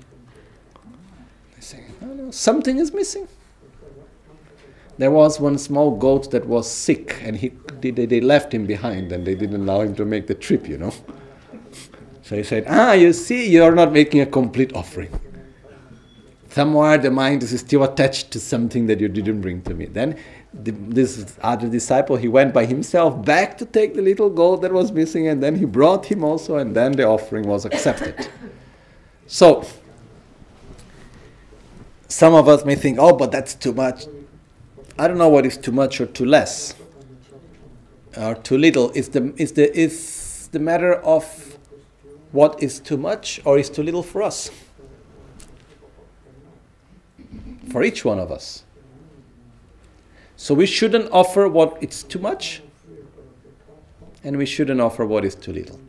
Speaker 2: They say, oh, no, something is missing. There was one small goat that was sick, and they left him behind, and they didn't allow him to make the trip, you know. So he said, you see, you're not making a complete offering. Somewhere the mind is still attached to something that you didn't bring to me. Then this other disciple, he went by himself back to take the little goat that was missing, and then he brought him also, and then the offering was accepted. So, some of us may think, oh, but that's too much. I don't know what is too much or too less, or too little. Is the matter of what is too much or is too little for us, for each one of us. So we shouldn't offer what is too much, and we shouldn't offer what is too little.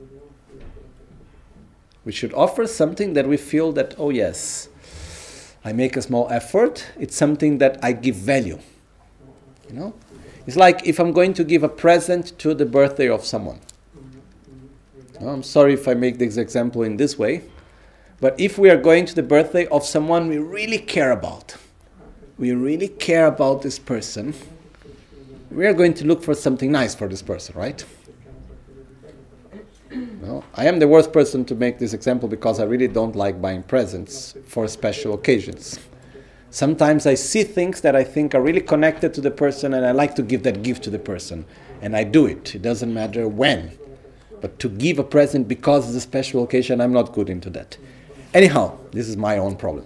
Speaker 2: We should offer something that we feel that, oh yes, I make a small effort. It's something that I give value. You know, it's like if I'm going to give a present to the birthday of someone. I'm sorry if I make this example in this way, but if we are going to the birthday of someone we really care about this person, we are going to look for something nice for this person, right? Well, I am the worst person to make this example because I really don't like buying presents for special occasions. Sometimes I see things that I think are really connected to the person, and I like to give that gift to the person. And I do it. It doesn't matter when. But to give a present because it's a special occasion, I'm not good into that. Anyhow, this is my own problem.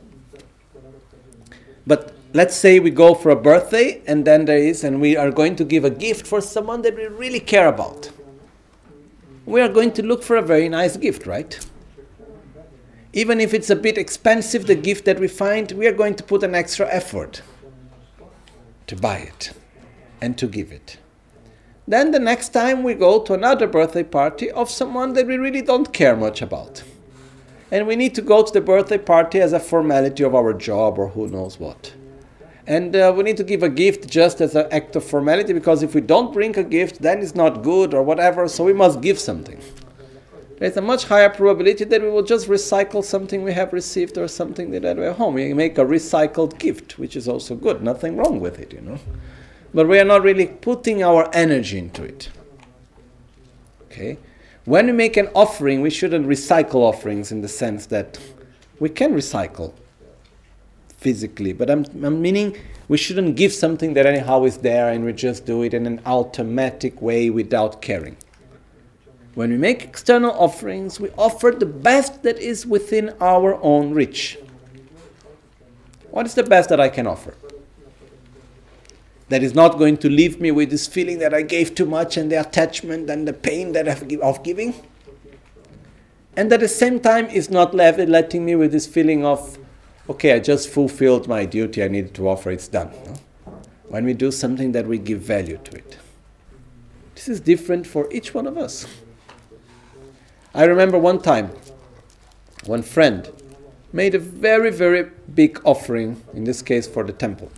Speaker 2: But let's say we go for a birthday, and then we are going to give a gift for someone that we really care about. We are going to look for a very nice gift, right? Even if it's a bit expensive, the gift that we find, we are going to put an extra effort to buy it and to give it. Then the next time we go to another birthday party of someone that we really don't care much about. And we need to go to the birthday party as a formality of our job or who knows what. And we need to give a gift just as an act of formality, because if we don't bring a gift, then it's not good or whatever, so we must give something. There's a much higher probability that we will just recycle something we have received or something that we have home. We make a recycled gift, which is also good. Nothing wrong with it, But we are not really putting our energy into it. Okay? When we make an offering, we shouldn't recycle offerings in the sense that we can recycle physically, but I'm meaning we shouldn't give something that anyhow is there and we just do it in an automatic way without caring. When we make external offerings, we offer the best that is within our own reach. What is the best that I can offer? That is not going to leave me with this feeling that I gave too much and the attachment and the pain that of giving. And at the same time is not letting me with this feeling of, okay, I just fulfilled my duty, I needed to offer, it's done. When we do something that we give value to it. This is different for each one of us. I remember one time, one friend made a very, very big offering, in this case for the temple.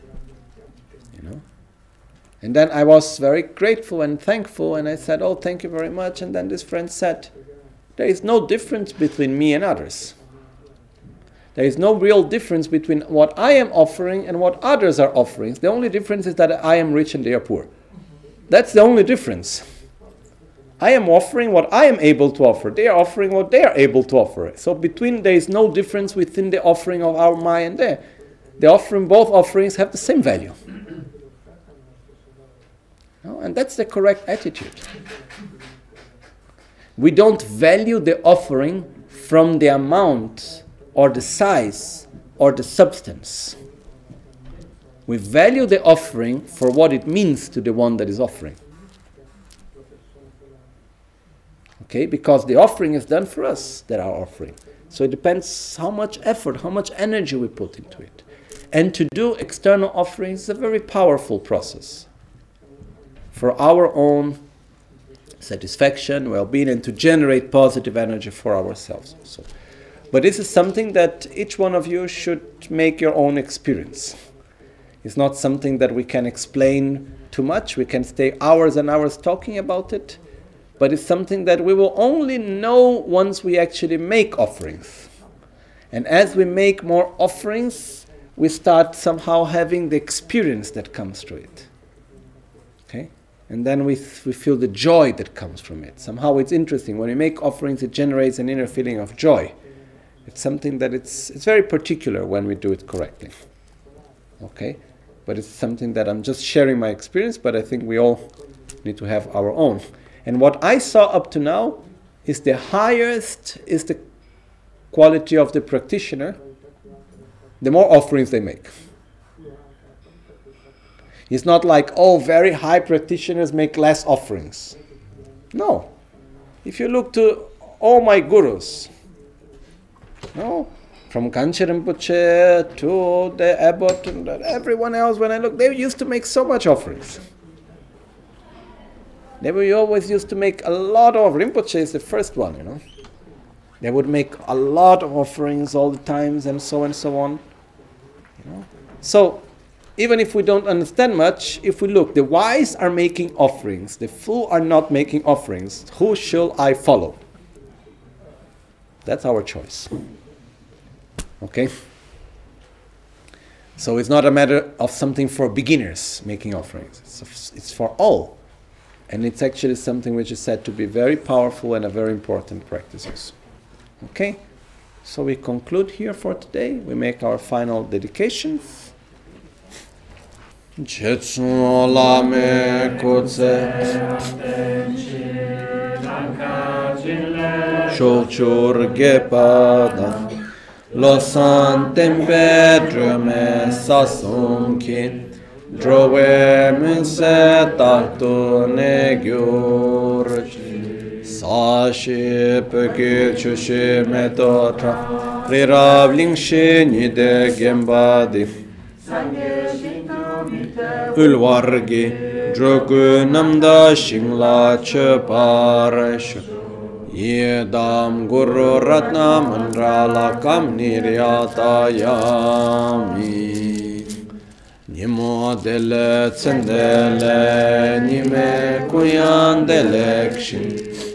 Speaker 2: And then I was very grateful and thankful, and I said, oh, thank you very much. And then this friend said, there is no difference between me and others. There is no real difference between what I am offering and what others are offering. The only difference is that I am rich and they are poor. That's the only difference. I am offering what I am able to offer. They are offering what they are able to offer. So there is no difference within the offering of our my and their. Both offerings have the same value. And that's the correct attitude. We don't value the offering from the amount or the size or the substance. We value the offering for what it means to the one that is offering. Okay, because the offering is done for us that are offering. So it depends how much effort, how much energy we put into it. And to do external offerings is a very powerful process for our own satisfaction, well-being, and to generate positive energy for ourselves also. But this is something that each one of you should make your own experience. It's not something that we can explain too much. We can stay hours and hours talking about it. But it's something that we will only know once we actually make offerings. And as we make more offerings, we start somehow having the experience that comes through it. Okay? And then we feel the joy that comes from it. Somehow it's interesting. When we make offerings, it generates an inner feeling of joy. It's something that it's very particular when we do it correctly. Okay? But it's something that I'm just sharing my experience, but I think we all need to have our own. And what I saw up to now is the highest is the quality of the practitioner, the more offerings they make. It's not like, very high practitioners make less offerings. No. If you look to all my gurus, from Kanchen Rinpoche to the abbot and everyone else, when I look, they used to make so much offerings. They always used to make a lot of, Rinpoche is the first one, They would make a lot of offerings all the times and so on. So, even if we don't understand much, if we look, the wise are making offerings, the fool are not making offerings. Who shall I follow? That's our choice. Okay? So it's not a matter of something for beginners making offerings. It's for all. And it's actually something which is said to be very powerful and a very important practice. Okay? So we conclude here for today. We make our final dedications.
Speaker 1: Jetsu lame kutse Shokchur gepada Losan tempe drume sasum kin Drove munse taktu ne gyurj Sashi peki chushi metotra Prirav lingshi nide gembadi Ulvargi drogu namda shingla cheparash Yedam guru ratna mandrala kam niryatayami Nimo dele tsendele nime kuyan delekshin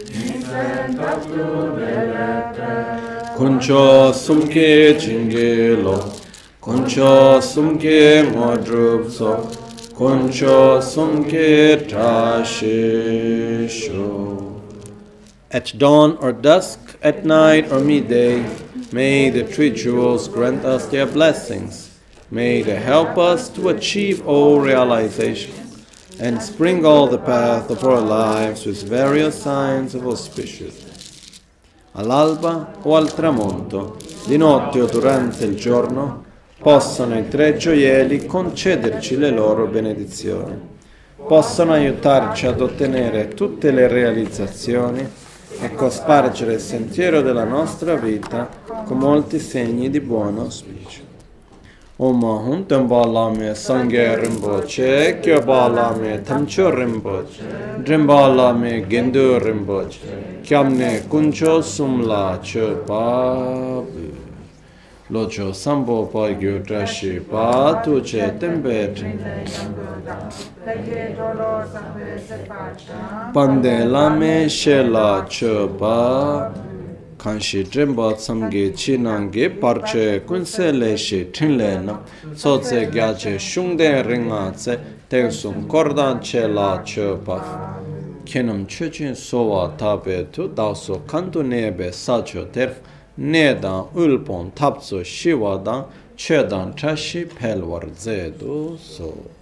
Speaker 1: Kuncho sumke chingelo Kuncho sumke modrupso Kuncho sumke trashisho. At dawn or dusk, at night or midday, may the three jewels grant us their blessings. May they help us to achieve all realization and sprinkle all the path of our lives with various signs of auspiciousness. All'alba o al tramonto, di notte o durante il giorno, possano i tre gioielli concederci le loro benedizioni, possano aiutarci ad ottenere tutte le realizzazioni e cospargere il sentiero della nostra vita con molti segni di buon auspicio. Om Ahum Tembala Sangye Rinpoche, Kyobala Tamcho Rinpoche, Drimbala Gendu Rinpoche, Kyamne Kuncho Sumla Chepabu. Locho Sambo Pagyo Trashi Pa Tuche Tembe Pandela Me Shela Chepa Kanshi Dremba Samge Chinange Parche Kunsele She Tinlena Sotse Gyache Shungde Ringatse Tengsum Kordan Chela Chepa Kenam Chechin Sowa Tabe Tu Daso Kantu Nebe Sacho Terf Nedan ulpon tapso shivadan chedan trashi pelvar zedu so.